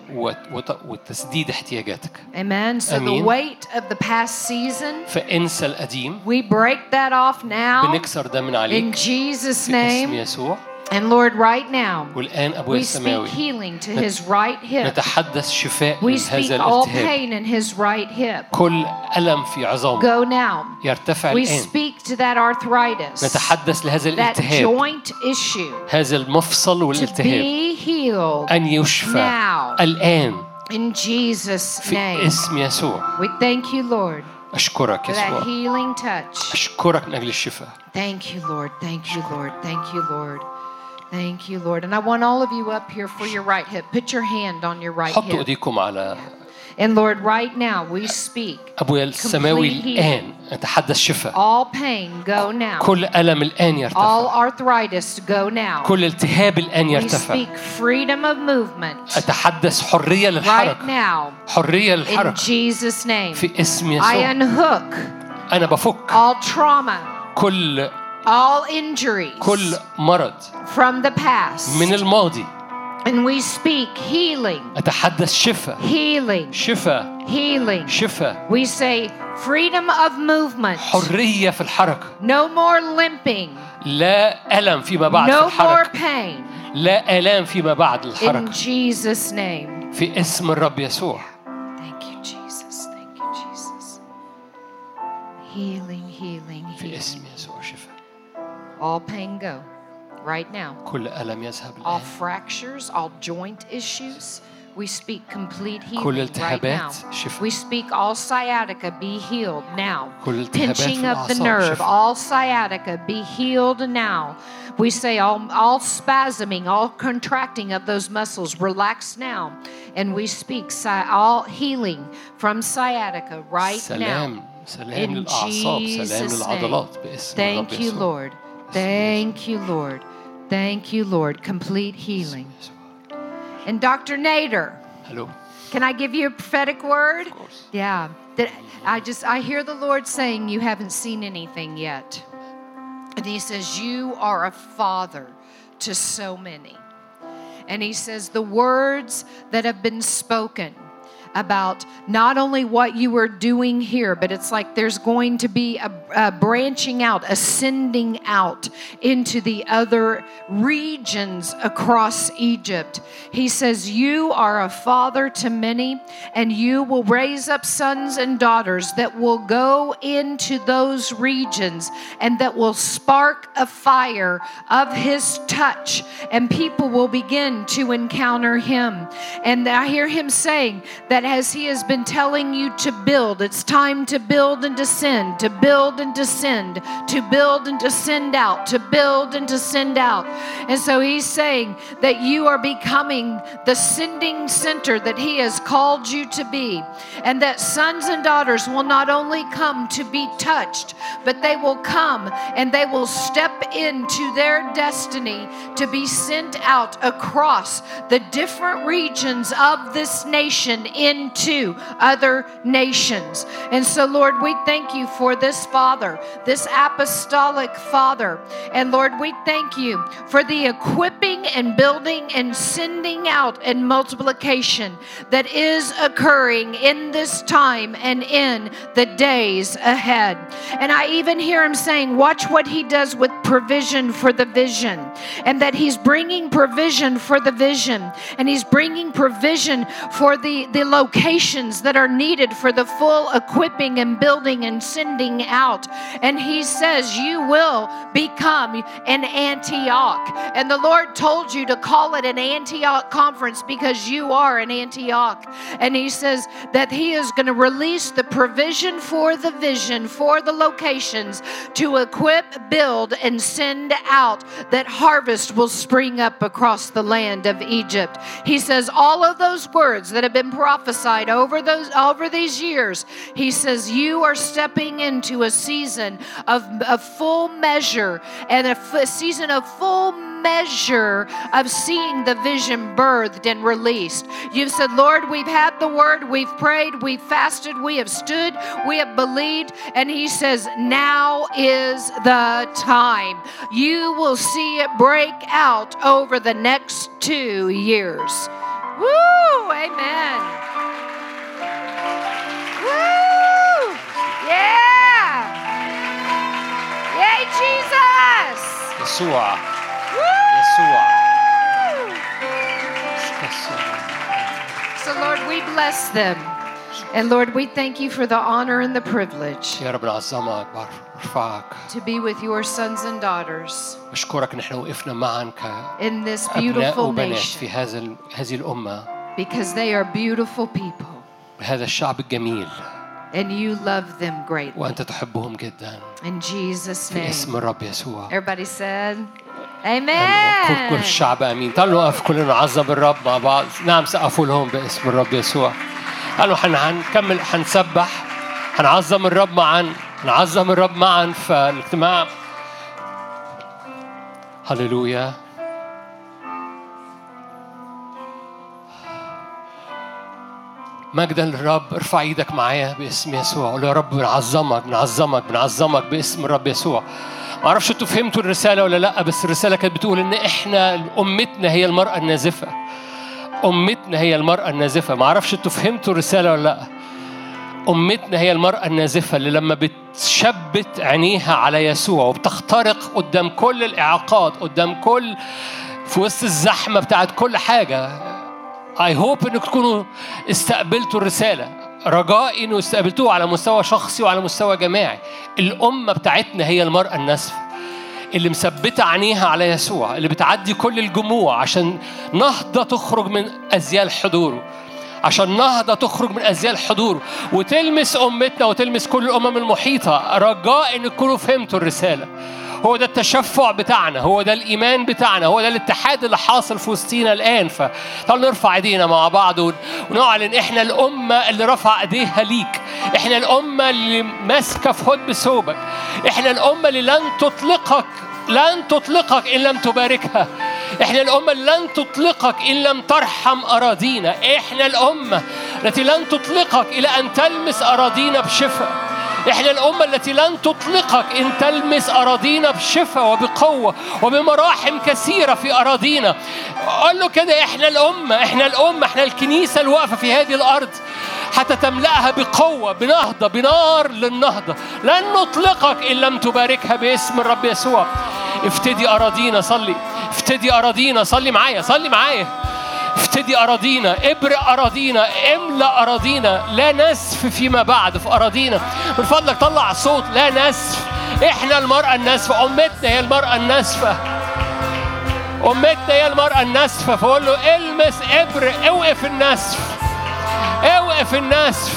وتسديد احتياجاتك. Amen. So the weight of the past season. فانسى القديم. We break that off now. بنكسر ده من عليك. In Jesus' name. في اسم يسوع. And Lord, right now, والآن أبويا السماوي. We speak healing to his right hip. نتحدث شفاء We speak all pain in his right hip. كل ألم في عظامه. Go now. يرتفع We الآن. speak to that arthritis. نتحدث لهذا الالتهاب. That joint issue. هذا المفصل والالتهاب. To be healed. أن يشفى. Now. الآن. In Jesus' name. في اسم يسوع. We thank you, Lord. أشكرك يسوع. For that healing touch. أشكرك من أجل الشفاء. Thank you, Lord. Thank you, Lord. Thank you, Lord. Thank you, Lord. And I want all of you up here for your right hip. Put your hand on your right hip. حطوا ايديكم على. And Lord, right now we speak. أبويا السماوي الآن نتحدث شفاء. All pain go now. كل ألم الآن يرتفع. All arthritis go now. كل التهاب الآن يرتفع. We speak freedom of movement. أتحدث حرية للحركة. Right now. حرية للحركة. In Jesus' name. في اسم يسوع. I unhook. أنا بفك. All trauma. كل. All injuries. كل مرض. From the past. من الماضي. And we speak healing. أتحدث شفاء. Healing. شفاء. Healing. شفاء. We say freedom of movement. حرية في الحركة. No more limping. لا ألم فيما بعد في الحركة. No more pain. لا آلام فيما بعد الحركة. In Jesus' name. في اسم الرب يسوع. Thank you, Jesus. Thank you, Jesus. Healing, healing, في اسم يسوع شفاء. All pain go. Right now. كل ألم يذهب الآن. All fractures, all joint issues. We speak complete healing كل right التهابات now. شفاء. We speak all sciatica be healed now. كل التهابات Pinching في of the الأعصاب nerve, شفاء. all sciatica be healed now. We say all spasming, all contracting of those muscles relax now. And we speak all healing from sciatica right سلام. now. سلام للأعصاب. سلام للعضلات باسم الرب Thank you, يسوع. Lord. Thank you, Lord. Thank you, Lord. Complete healing. And Dr. Nader. Hello. Can I give you a prophetic word? Of course. Yeah. I hear the Lord saying you haven't seen anything yet. And He says you are a father to so many. And He says the words that have been spoken about not only what you are doing here, but it's like there's going to be a branching out, ascending out into the other regions across Egypt. He says, you are a father to many, and you will raise up sons and daughters that will go into those regions and that will spark a fire of His touch, and people will begin to encounter Him. And I hear Him saying that as He has been telling you to build, it's time to build and descend, to build and descend, to build and descend out, to build and descend out. And so He's saying that you are becoming the sending center that He has called you to be, and that sons and daughters will not only come to be touched, but they will come and they will step into their destiny to be sent out across the different regions of this nation into other nations. And so, Lord, we thank you for this father, this apostolic father. And Lord, we thank you for the equipping equipping and building and sending out and multiplication that is occurring in this time and in the days ahead. And I even hear him saying, watch what he does with provision for the vision, and that he's bringing provision for the vision, and he's bringing provision for the locations that are needed for the full equipping and building and sending out. And he says, you will become an Antioch. And the Lord told you to call it an Antioch conference because you are an Antioch. And he says that he is going to release the provision for the vision, for the locations, to equip, build, and send out, that harvest will spring up across the land of Egypt. He says all of those words that have been prophesied over these years, he says you are stepping into a season of full measure, and a season of full measure of seeing the vision birthed and released. You've said, Lord, we've had the word, we've prayed, we've fasted, we have stood, we have believed. And he says, now is the time. You will see it break out over the next 2 years. Woo! Amen. Woo! Yeah! Yay, Jesus! يسوع. So Lord, we bless them. And Lord, we thank you for the honor and the privilege يا رب نعظمك برفعك. to be with your sons and daughters بشكرك نحن وقفنا معا in this كأبناء beautiful وبنات nation, في هذه الأمة، because they are beautiful people بهذا الشعب الجميل، and you love them greatly. وأنت تحبهم جدا. In Jesus' في name. اسم الرب يسوع. Everybody said, كل Amen. الشعب امين. تعالوا نقف كلنا نعظم الرب مع بعض. نعم سقفوا لهم باسم الرب يسوع. قالوا هنكمل، هنسبح، هنعظم الرب معا، نعظم الرب معا في الاجتماع. هللويا. مجدا للرب. ارفع ايدك معايا باسم يسوع، قول يا رب بنعظمك بنعظمك بنعظمك باسم الرب يسوع. ما اعرفش انتوا فهمتوا الرساله ولا لا، بس الرساله كانت بتقول ان احنا امتنا هي المراه النازفه. امتنا هي المراه النازفه. ما اعرفش انتوا فهمتوا الرساله ولا لا. امتنا هي المراه النازفه اللي لما بتشبت عينيها على يسوع وبتخترق قدام كل الاعاقات، قدام كل، في وسط الزحمه بتاعت كل حاجه. I hope انك تكونوا استقبلتوا الرساله. رجائي انه استقبلتوه على مستوى شخصي وعلى مستوى جماعي. الامه بتاعتنا هي المراه النازفه اللي مثبته عينيها على يسوع، اللي بتعدي كل الجموع عشان نهضه تخرج من ازيال حضوره، عشان نهضه تخرج من ازيال حضوره وتلمس امتنا وتلمس كل الامم المحيطه. رجاء ان تكونوا فهمتوا الرساله. هو ده التشفع بتاعنا، هو ده الإيمان بتاعنا، هو ده الاتحاد اللي حاصل في وسطينا الآن. فتعالوا نرفع ايدينا مع بعض ونعلن احنا الأمة اللي رفع ايديها ليك، احنا الأمة اللي ماسكة في هد بثوبك، احنا الأمة اللي لن تطلقك إن لم تباركها، احنا الأمة اللي لن تطلقك إن لم ترحم أراضينا، احنا الأمة التي لن تطلقك إلى أن تلمس أراضينا بشفاء، احنا الأمة التي لن تطلقك إن تلمس أراضينا بشفاء وبقوة وبمراحم كثيرة في أراضينا. قال له كده، احنا الأمة، احنا الكنيسة الواقفة في هذه الأرض حتى تملأها بقوة، بنهضة، بنار للنهضة. لن نطلقك إن لم تباركها باسم الرب يسوع. افتدي أراضينا، صلي، افتدي أراضينا، صلي معايا، صلي معايا. افتدي أراضينا، ابرئ أراضينا، املأ أراضينا، لا نسف فيما بعد في أراضينا. من فضلك طلع صوت، لا نسف. احنا المرأة الناسفة، أمتنا هي المرأة الناسفة، أمتنا هي المرأة الناسفة. فقول له المس، ابرئ، اوقف النسف، اوقف النسف.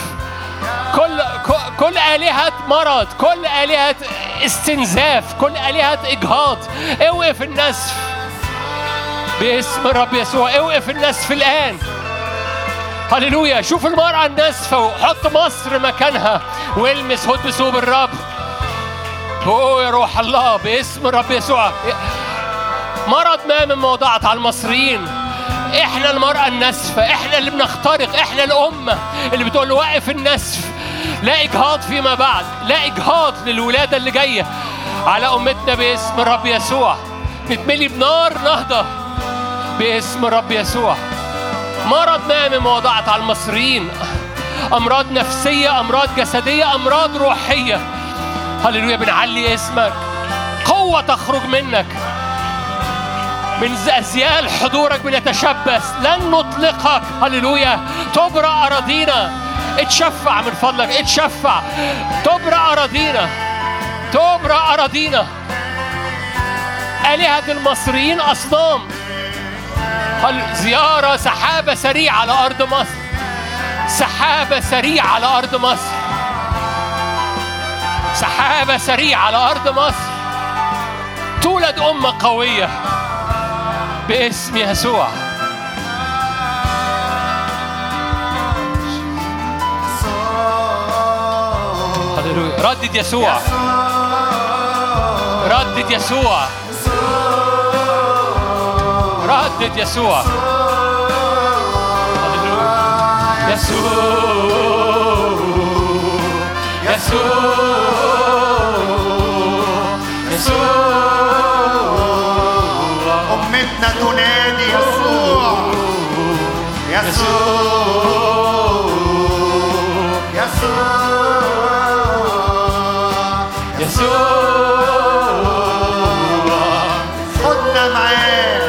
كل آلهة مرض، كل آلهة استنزاف، كل آلهة إجهاض، اوقف النسف باسم الرب يسوع. اوقف النسف الآن. هللويا. شوف المرأة الناسفة وحط مصر مكانها والمس هد بثوب الرب. يا روح الله باسم الرب يسوع. مرض ما من موضعت على المصريين. احنا المرأة الناسفة، احنا اللي بنخترق، احنا الأمة اللي بتقول له وقف النسف. لا إجهاض فيما بعد، لا إجهاض للولادة اللي جاية على أمتنا باسم الرب يسوع. نتملي بنار نهضة، باسم الرب يسوع. مرض ما من وضعت على المصريين، أمراض نفسية، أمراض جسدية، أمراض روحية. هللويا، بنعلي اسمك. قوة تخرج منك، من أزيال حضورك بنتشبث، لن نطلقك. هللويا، تبرأ أراضينا. اتشفع من فضلك، اتشفع. تبرأ أراضينا، تبرأ أراضينا. آلهة المصريين أصنام. زيارة سحابة سريعة على أرض مصر، سحابة سريعة على أرض مصر، سحابة سريعة على أرض مصر. تولد أمة قوية باسم يسوع. هللويا. ردد يسوع، ردد يسوع، ردد يسوع. هللويا. يسوع، يسوع، يسوع. أمتنا تنادي يسوع، يسوع، يسوع، يسوع. خدنا معاه،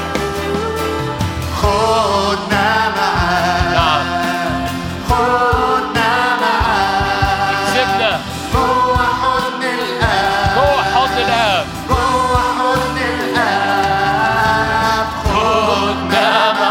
خدنا معاه، خدنا معاه. اكسبنا جوه حضن الآب، جوه حضن الآب، جوه حضن الآب. خدنا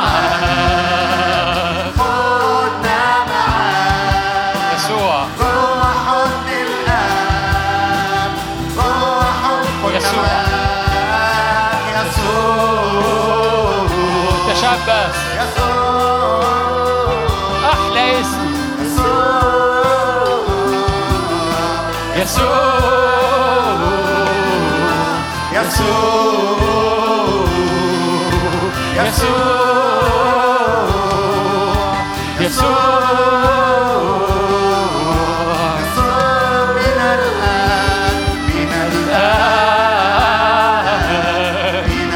معاه. خدنا معاه يسوع، جوه حضن الآب، جوه حضن يسوع. الآب. يسوع، تشبث. يسوع، أحلى اسم يسوع، يسوع، يسوع، يسوع، يسوع. من الآن، من الآن، من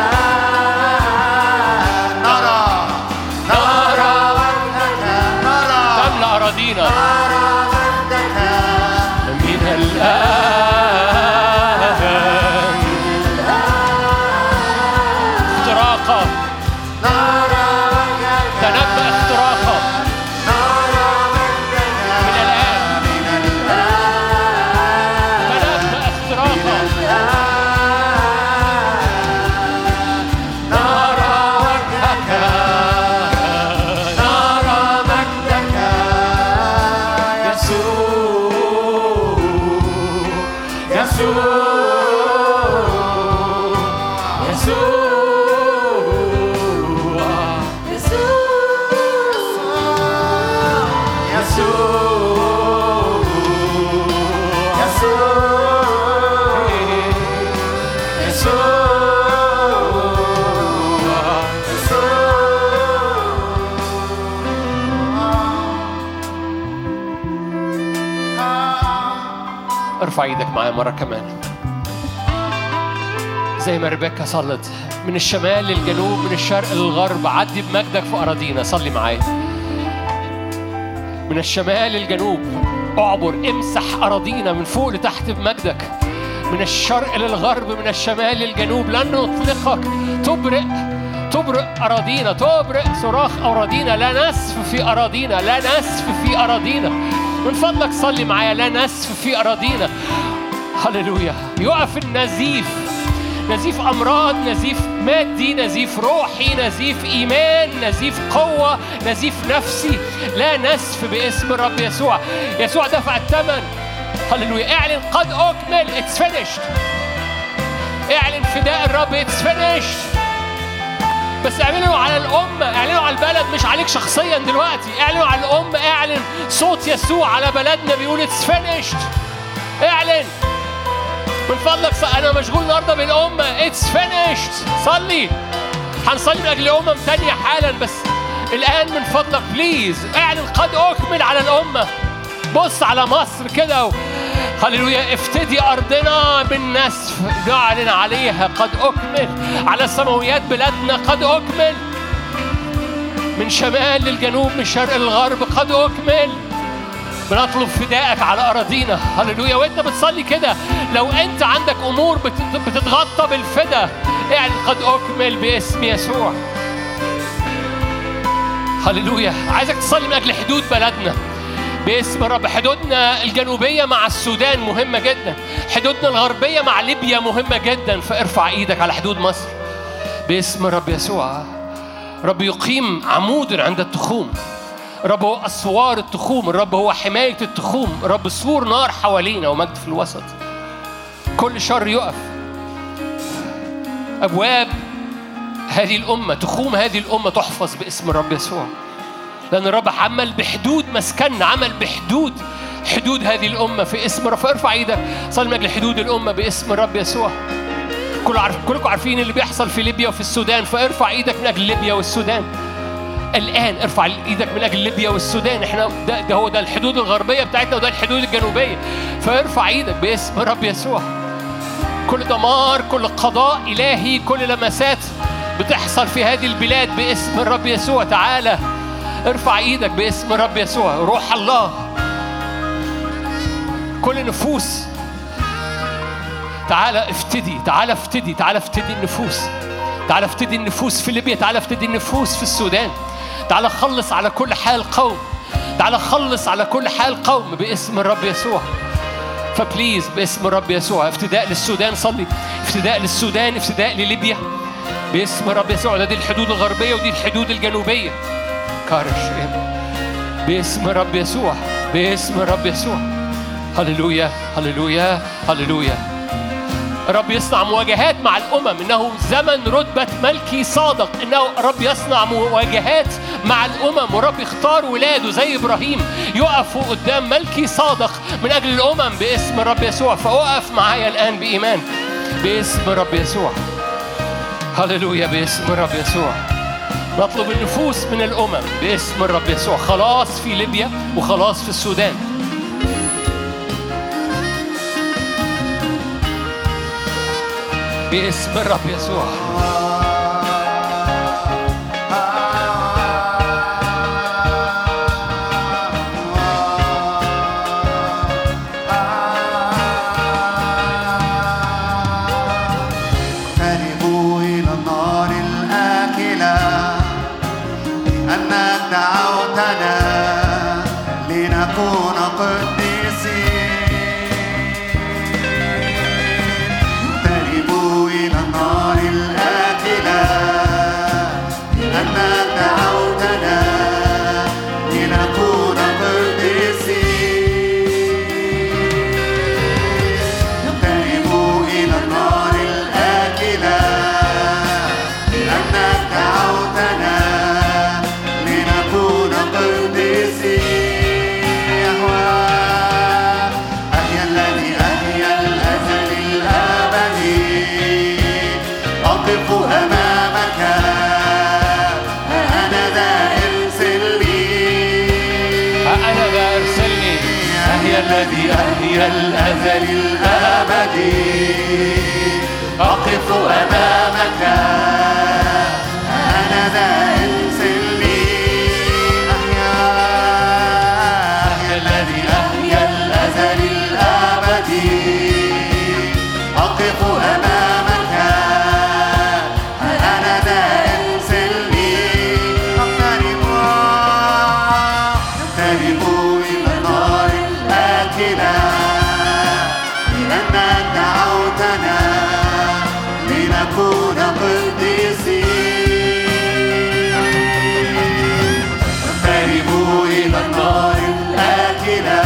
الآن نرى، نرى وجهك، نرى، تملأ أراضينا نرى وجهك. من الآن. اختراقا، نرى وجهك، تنبأ اختراقا نرى وجهك. من الآن. من الآن، تنبأ اختراقا. نرى وجهك، نرى مجدك. يسوع، يسوع، ارفع ايدك معايا مرة كمان زي ما ريبيكا صلت، من الشمال للجنوب، من الشرق للغرب. عدي بمجدك في أراضينا. صلي معايا. من الشمال للجنوب اعبر، امسح أراضينا من فوق لتحت بمجدك. من الشرق للغرب، من الشمال للجنوب. لن نطلقك. تبرئ أراضينا، تبرئ صراخ أراضينا. لا نسف في أراضينا، لا نسف في أراضينا. من فضلك صلي معايا. لا نسف في أراضينا. هللويا. يقف النزيف، نزيف أمراض، نزيف مادي، نزيف روحي، نزيف إيمان، نزيف قوة، نزيف نفسي. لا نسف باسم الرب يسوع. يسوع دفع الثمن. هللويا. اعلن قد أكمل. It's finished. اعلن فداء الرب. It's finished. بس اعلنوا على الأمة، اعلنوا على البلد، مش عليك شخصيا دلوقتي. اعلنوا على الأمة. اعلن صوت يسوع على بلدنا بيقول It's finished. اعلن من فضلك. أنا مشغول النهاردة بالأمة. It's finished. صلي. هنصلي من أجل أمم تانية حالا، بس الآن من فضلك بليز اعلن قد أكمل على الأمة. بص على مصر كده هللويا. افتدي أرضنا بالنسف، نعلن عليها قد أكمل. على السماويات بلادنا قد أكمل، من شمال للجنوب من شرق للغرب قد أكمل. بنطلب فدائك على أراضينا. هللويا. وانت بتصلي كده، لو انت عندك أمور بتتغطى بالفدا، يعني قد أكمل باسم يسوع. هللويا. عايزك تصلي من أجل حدود بلدنا باسم الرب. حدودنا الجنوبية مع السودان مهمة جدا، حدودنا الغربية مع ليبيا مهمة جدا، فارفع ايدك على حدود مصر باسم الرب يسوع. رب يقيم عمود عند التخوم، رب هو أسوار التخوم، الرب هو حماية التخوم، رب سور نار حوالينا ومجد في الوسط. كل شر يقف. أبواب هذه الأمة، تخوم هذه الأمة تحفظ باسم الرب يسوع، لأن الرب عمل بحدود مسكننا، عمل بحدود حدود هذه الأمة في اسم الرب. فارفع ايدك صلي من أجل حدود الأمة باسم الرب يسوع. كلكم عارفين اللي بيحصل في ليبيا وفي السودان، فارفع ايدك من أجل ليبيا والسودان الآن. ارفع ايدك من أجل ليبيا والسودان. احنا ده هو ده الحدود الغربية بتاعتنا وده الحدود الجنوبية، فارفع ايدك باسم الرب يسوع. كل دمار، كل قضاء إلهي، كل لمسات بتحصل في هذه البلاد باسم الرب يسوع. تعالى ارفع ايدك باسم الرب يسوع. روح الله، كل نفوس تعالى افتدي، تعالى افتدي، تعالى افتدي النفوس، تعالى افتدي النفوس في ليبيا، تعالى افتدي النفوس في السودان، تعالى خلص على كل حال قوم، تعالى خلص على كل حال قوم باسم الرب يسوع. فبليز باسم الرب يسوع افتداء للسودان. صلي افتداء للسودان، افتداء لليبيا باسم الرب يسوع. دي الحدود الغربية ودي الحدود الجنوبية. كارش باسم الرب يسوع، باسم الرب يسوع. هللويا هللويا هللويا. رب يصنع مواجهات مع الأمم، إنه زمن رتبة ملكي صادق، إنه رب يصنع مواجهات مع الأمم، ورب يختار ولاده زي إبراهيم يقفوا قدام ملكي صادق من أجل الأمم باسم الرب يسوع. فأقف معايا الآن بإيمان باسم الرب يسوع. هللويا باسم الرب يسوع. نطلب النفوس من الأمم باسم الرب يسوع، خلاص في ليبيا وخلاص في السودان باسم الرب يسوع. اقتربوا إلى النار الآكلة، لأنك دعوتنا لنكون قديسين. النار الآكلة، لأنك دعوتنا لنكون قديسين. اقتربوا إلى النار الآكلة، لأنك دعوتنا لنكون قديسين. أحيا الذي أحيا الأزل الأبدي، أقف أمامك أنا ذا ارسلني، أنا ذا ارسلني. أحيا الذي أحيا الأزل الأبدي، أقف أمامك أنا ذا ارسلني. أحيا الذي أحيا الأزل الأبدي، أقف أمامك أنا ذا ارسلني. اقتربوا إلى النار الآكلة، لأنك دعوتنا لنكون قديسين. اقتربوا إلى النار الآكلة،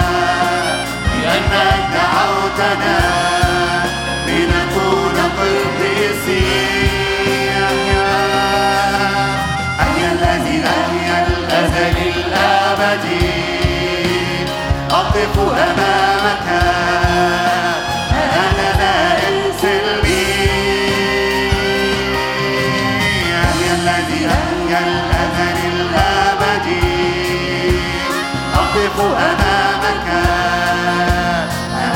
لأنك دعوتنا لنكون قديسين. أحيا الذي أحيا الأزل الأبدي، أقف أمامك أنا ذا ارسلني. أحيا الذي أحيا الأزل الأبدي، أقف أمامك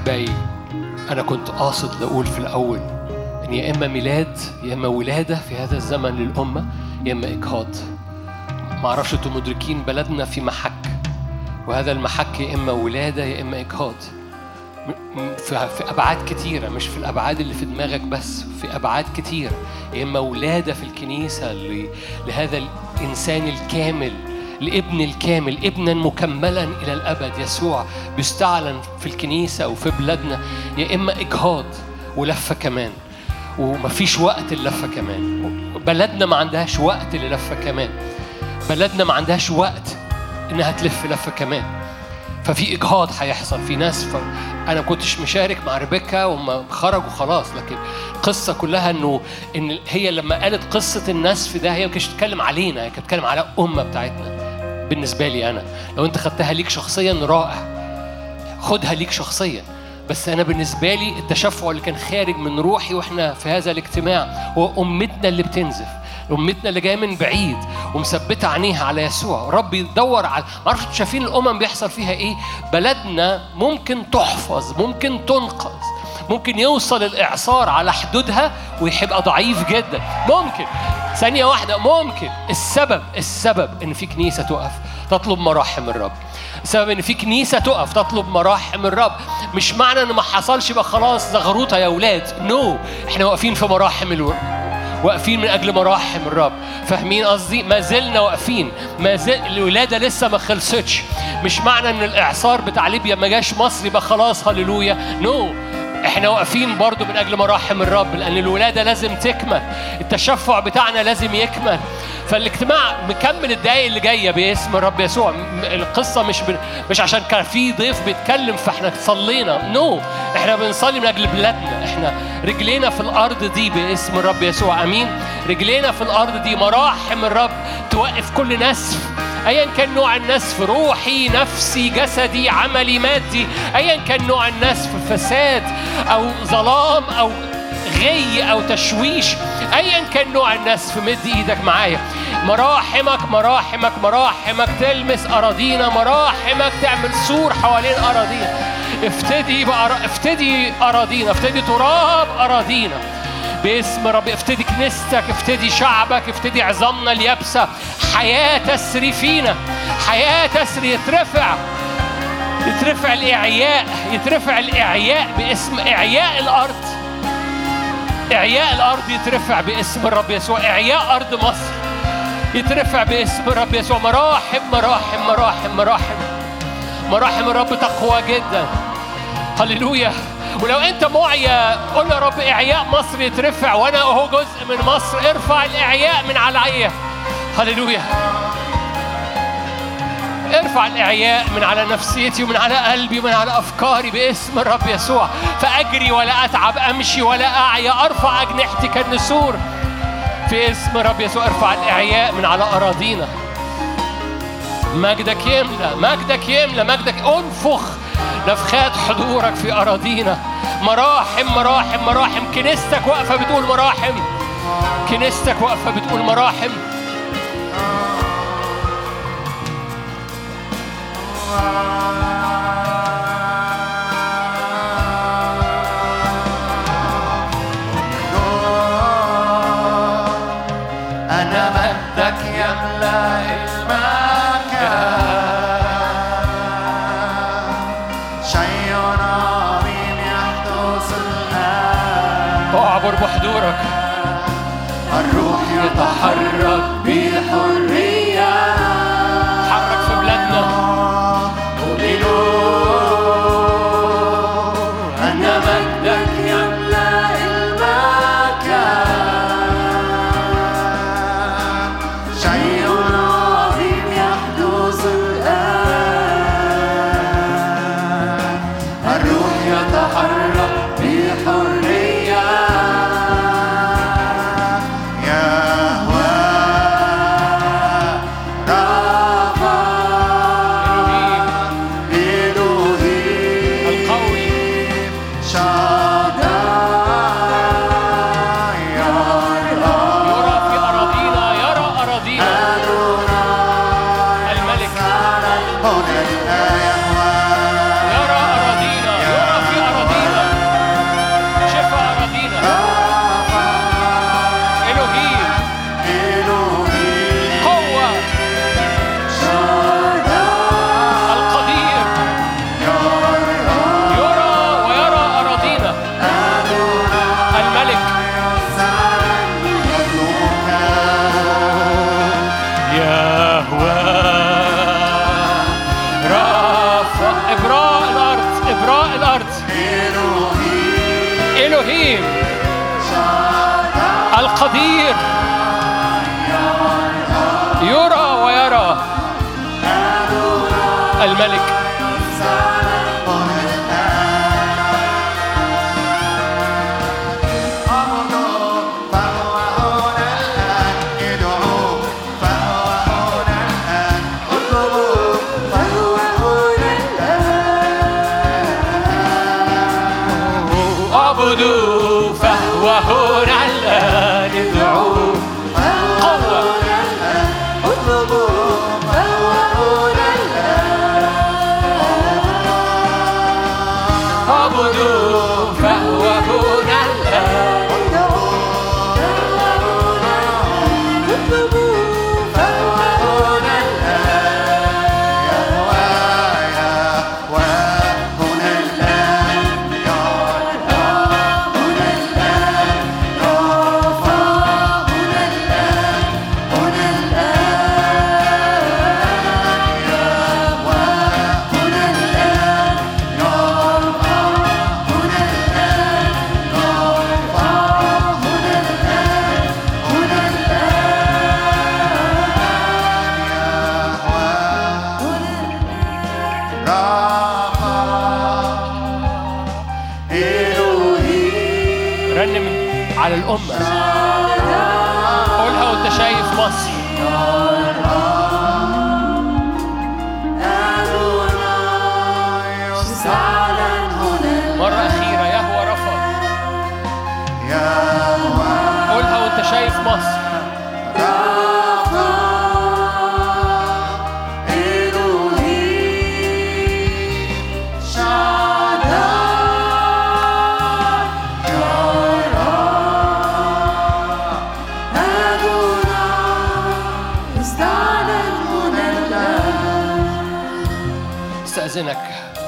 أحبائي أنا كنت قاصد لأقول في الأول إن يا إما ميلاد يا إما ولادة في هذا الزمن للأمة يا إما إجهاض. ما أعرفش أنتم مدركين بلدنا في محك، وهذا المحك يا إما ولادة يا إما إجهاض في أبعاد كتيرة، مش في الأبعاد اللي في دماغك بس، في أبعاد كتيرة. يا إما ولادة في الكنيسة لهذا الإنسان الكامل، الابن الكامل، ابنا مكملا إلى الأبد يسوع بيستعلن في الكنيسة وفي بلادنا، يا إما إجهاض ولفة كمان، ومفيش وقت اللفة كمان. بلدنا ما عندهاش وقت للفة كمان، بلدنا ما عندهاش وقت إنها تلف لفة كمان. ففي إجهاض هيحصل في ناس. أنا كنتش مشارك مع ريبيكا وما خرجوا خلاص، لكن القصة كلها إن هي لما قالت قصة النسف ده هي ما كانتش بتتكلم علينا، هي كانت بتتكلم على الأمة بتاعتنا. بالنسبة لي أنا لو أنت خدتها ليك شخصيا رائع، خدها ليك شخصيا، بس أنا بالنسبة لي التشفع اللي كان خارج من روحي وإحنا في هذا الاجتماع هو أمتنا اللي بتنزف، أمتنا اللي جاية من بعيد ومثبتة عينيها على يسوع. رب يدور على معرفش شايفين الأمم بيحصل فيها إيه. بلدنا ممكن تحفظ، ممكن تنقذ، ممكن يوصل الإعصار على حدودها ويبقى ضعيف جدا، ممكن ثانية واحدة ممكن. السبب إن في كنيسة تقف تطلب مراحم الرب، السبب إن في كنيسة تقف تطلب مراحم الرب. مش معنى إن ما حصلش يبقى خلاص زغروطة يا أولاد، نو، إحنا واقفين في مراحم واقفين من أجل مراحم الرب. فاهمين قصدي؟ ما زلنا واقفين، ما زل الولادة لسه ما خلصتش. مش معنى إن الإعصار بتاع ليبيا ما جاش مصر يبقى خلاص هللويا، نو، احنا واقفين برضو من أجل مراحم الرب، لأن الولادة لازم تكمل، التشفع بتاعنا لازم يكمل. فالاجتماع مكمل الدقايق اللي جاية باسم الرب يسوع. القصة مش عشان كان في ضيف بيتكلم فاحنا صلينا، نو، احنا بنصلي من أجل بلادنا. احنا رجلينا في الأرض دي باسم الرب يسوع، أمين. رجلينا في الأرض دي مراحم الرب توقف كل نسف، أيا كان نوع النسف، روحي، نفسي، جسدي، عملي، مادي، أيا كان نوع النسف، فساد أو ظلام أو غي أو تشويش، أيا كان نوع النسف، مد إيدك معايا. مراحمك مراحمك مراحمك تلمس أراضينا، مراحمك تعمل سور حوالين أراضينا. افتدي أراضينا، افتدي تراب أراضينا باسم رب. افتدي كنيستك، افتدي شعبك، افتدي عظامنا اليابسة. حياة تسري فينا، حياة تسري. يترفع الإعياء، يترفع الإعياء باسم إعياء الأرض. إعياء الأرض يترفع باسم الرب يسوع. إعياء أرض مصر يترفع باسم الرب يسوع. مراحم مراحم مراحم مراحم مراحم الرب تقوى جدا، هللويا. ولو أنت معيا قل يا رب إعياء مصر يترفع، وأنا أهو جزء من مصر. ارفع الإعياء من عليا، هللويا. ارفع الإعياء من على نفسيتي ومن على قلبي ومن على أفكاري باسم الرب يسوع. فأجري ولا أتعب، أمشي ولا أعيا، أرفع أجنحتي كالنسور في اسم الرب يسوع. ارفع الإعياء من على أراضينا. مجدك يملى، مجدك يملى، مجدك. انفخ نفخات حضورك في أراضينا. مراحم مراحم مراحم. كنيستك واقفة بتقول مراحم، كنيستك واقفة بتقول مراحم. أنا مجدك يملأ المكان. شيء عظيم يحدث الآن. أعبر بحضورك. الروح يتحرك بحرية. حرك في بلادنا. أن مجدك يملأ المكان. شيء عظيم يحدث الآن. الروح يتحرك بحرية. يهوه رافع إلهيم القوي شاداي يرى في أراضينا، يرى أراضينا. الملك هنا الآية يرى أراضينا، يرى في أراضينا. إلهيم القدير يرى ويرى الملك. اعبدوا فهو هنا الآن ادعوا قوة اطلبوا فهو هنا الآن اعبدوا فهو هنا الآن اطلبوا فهو هنا على الأمة. قولها وانت شايف مصر. مرة أخيرة يهوى رفع. قولها وانت شايف مصر. استأذنك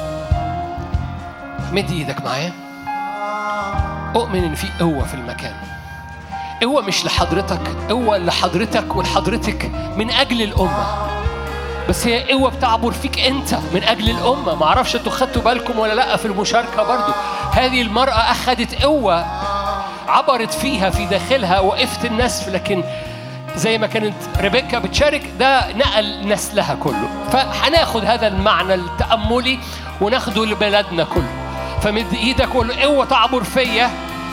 مد ايدك معايا. أؤمن إن في قوة في المكان. قوة مش لحضرتك، قوة لحضرتك ولحضرتك من أجل الأمة. بس هي قوة بتعبر فيك أنت من أجل الأمة. معرفش أنتوا خدتوا بالكم ولا لأ في المشاركة برضو. هذه المرأة أخذت قوة عبرت فيها في داخلها وقفت النسف، لكن زي ما كانت ريبيكا بتشارك ده نقل نسلها كله. فهناخد هذا المعنى التأملي وناخده لبلدنا كله. فمد ايدك وقول له قوة تعبر فيا.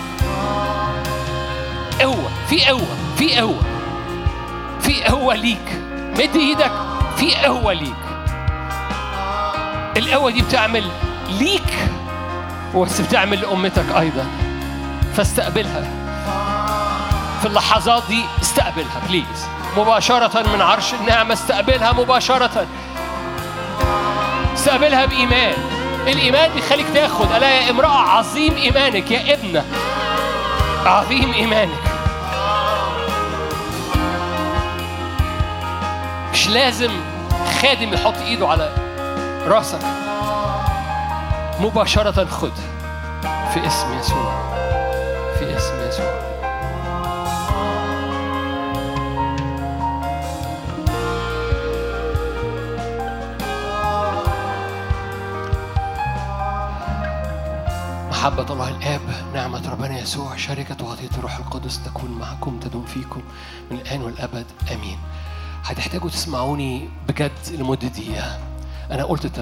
قوة، في قوة، في قوة، في قوة ليك. مد ايدك، في قوة ليك. القوة دي بتعمل ليك بس بتعمل لأمتك أيضا. فاستقبلها في اللحظات دي. استقبلها بليز مباشرة من عرش النعمة. استقبلها مباشرة. استقبلها بإيمان. الإيمان بيخليك تاخد. ألا يا امرأة عظيم إيمانك، يا ابنة عظيم إيمانك. مش لازم خادم يحط إيده على راسك. مباشرة خد في اسم يسوع، في اسم يسوع. محبة الله الآب، نعمة ربنا يسوع، شركة وعطية الروح القدس تكون معكم تدوم فيكم من الآن والأبد آمين. هتحتاجوا تسمعوني بجد لمدة دقيقة. أنا قلت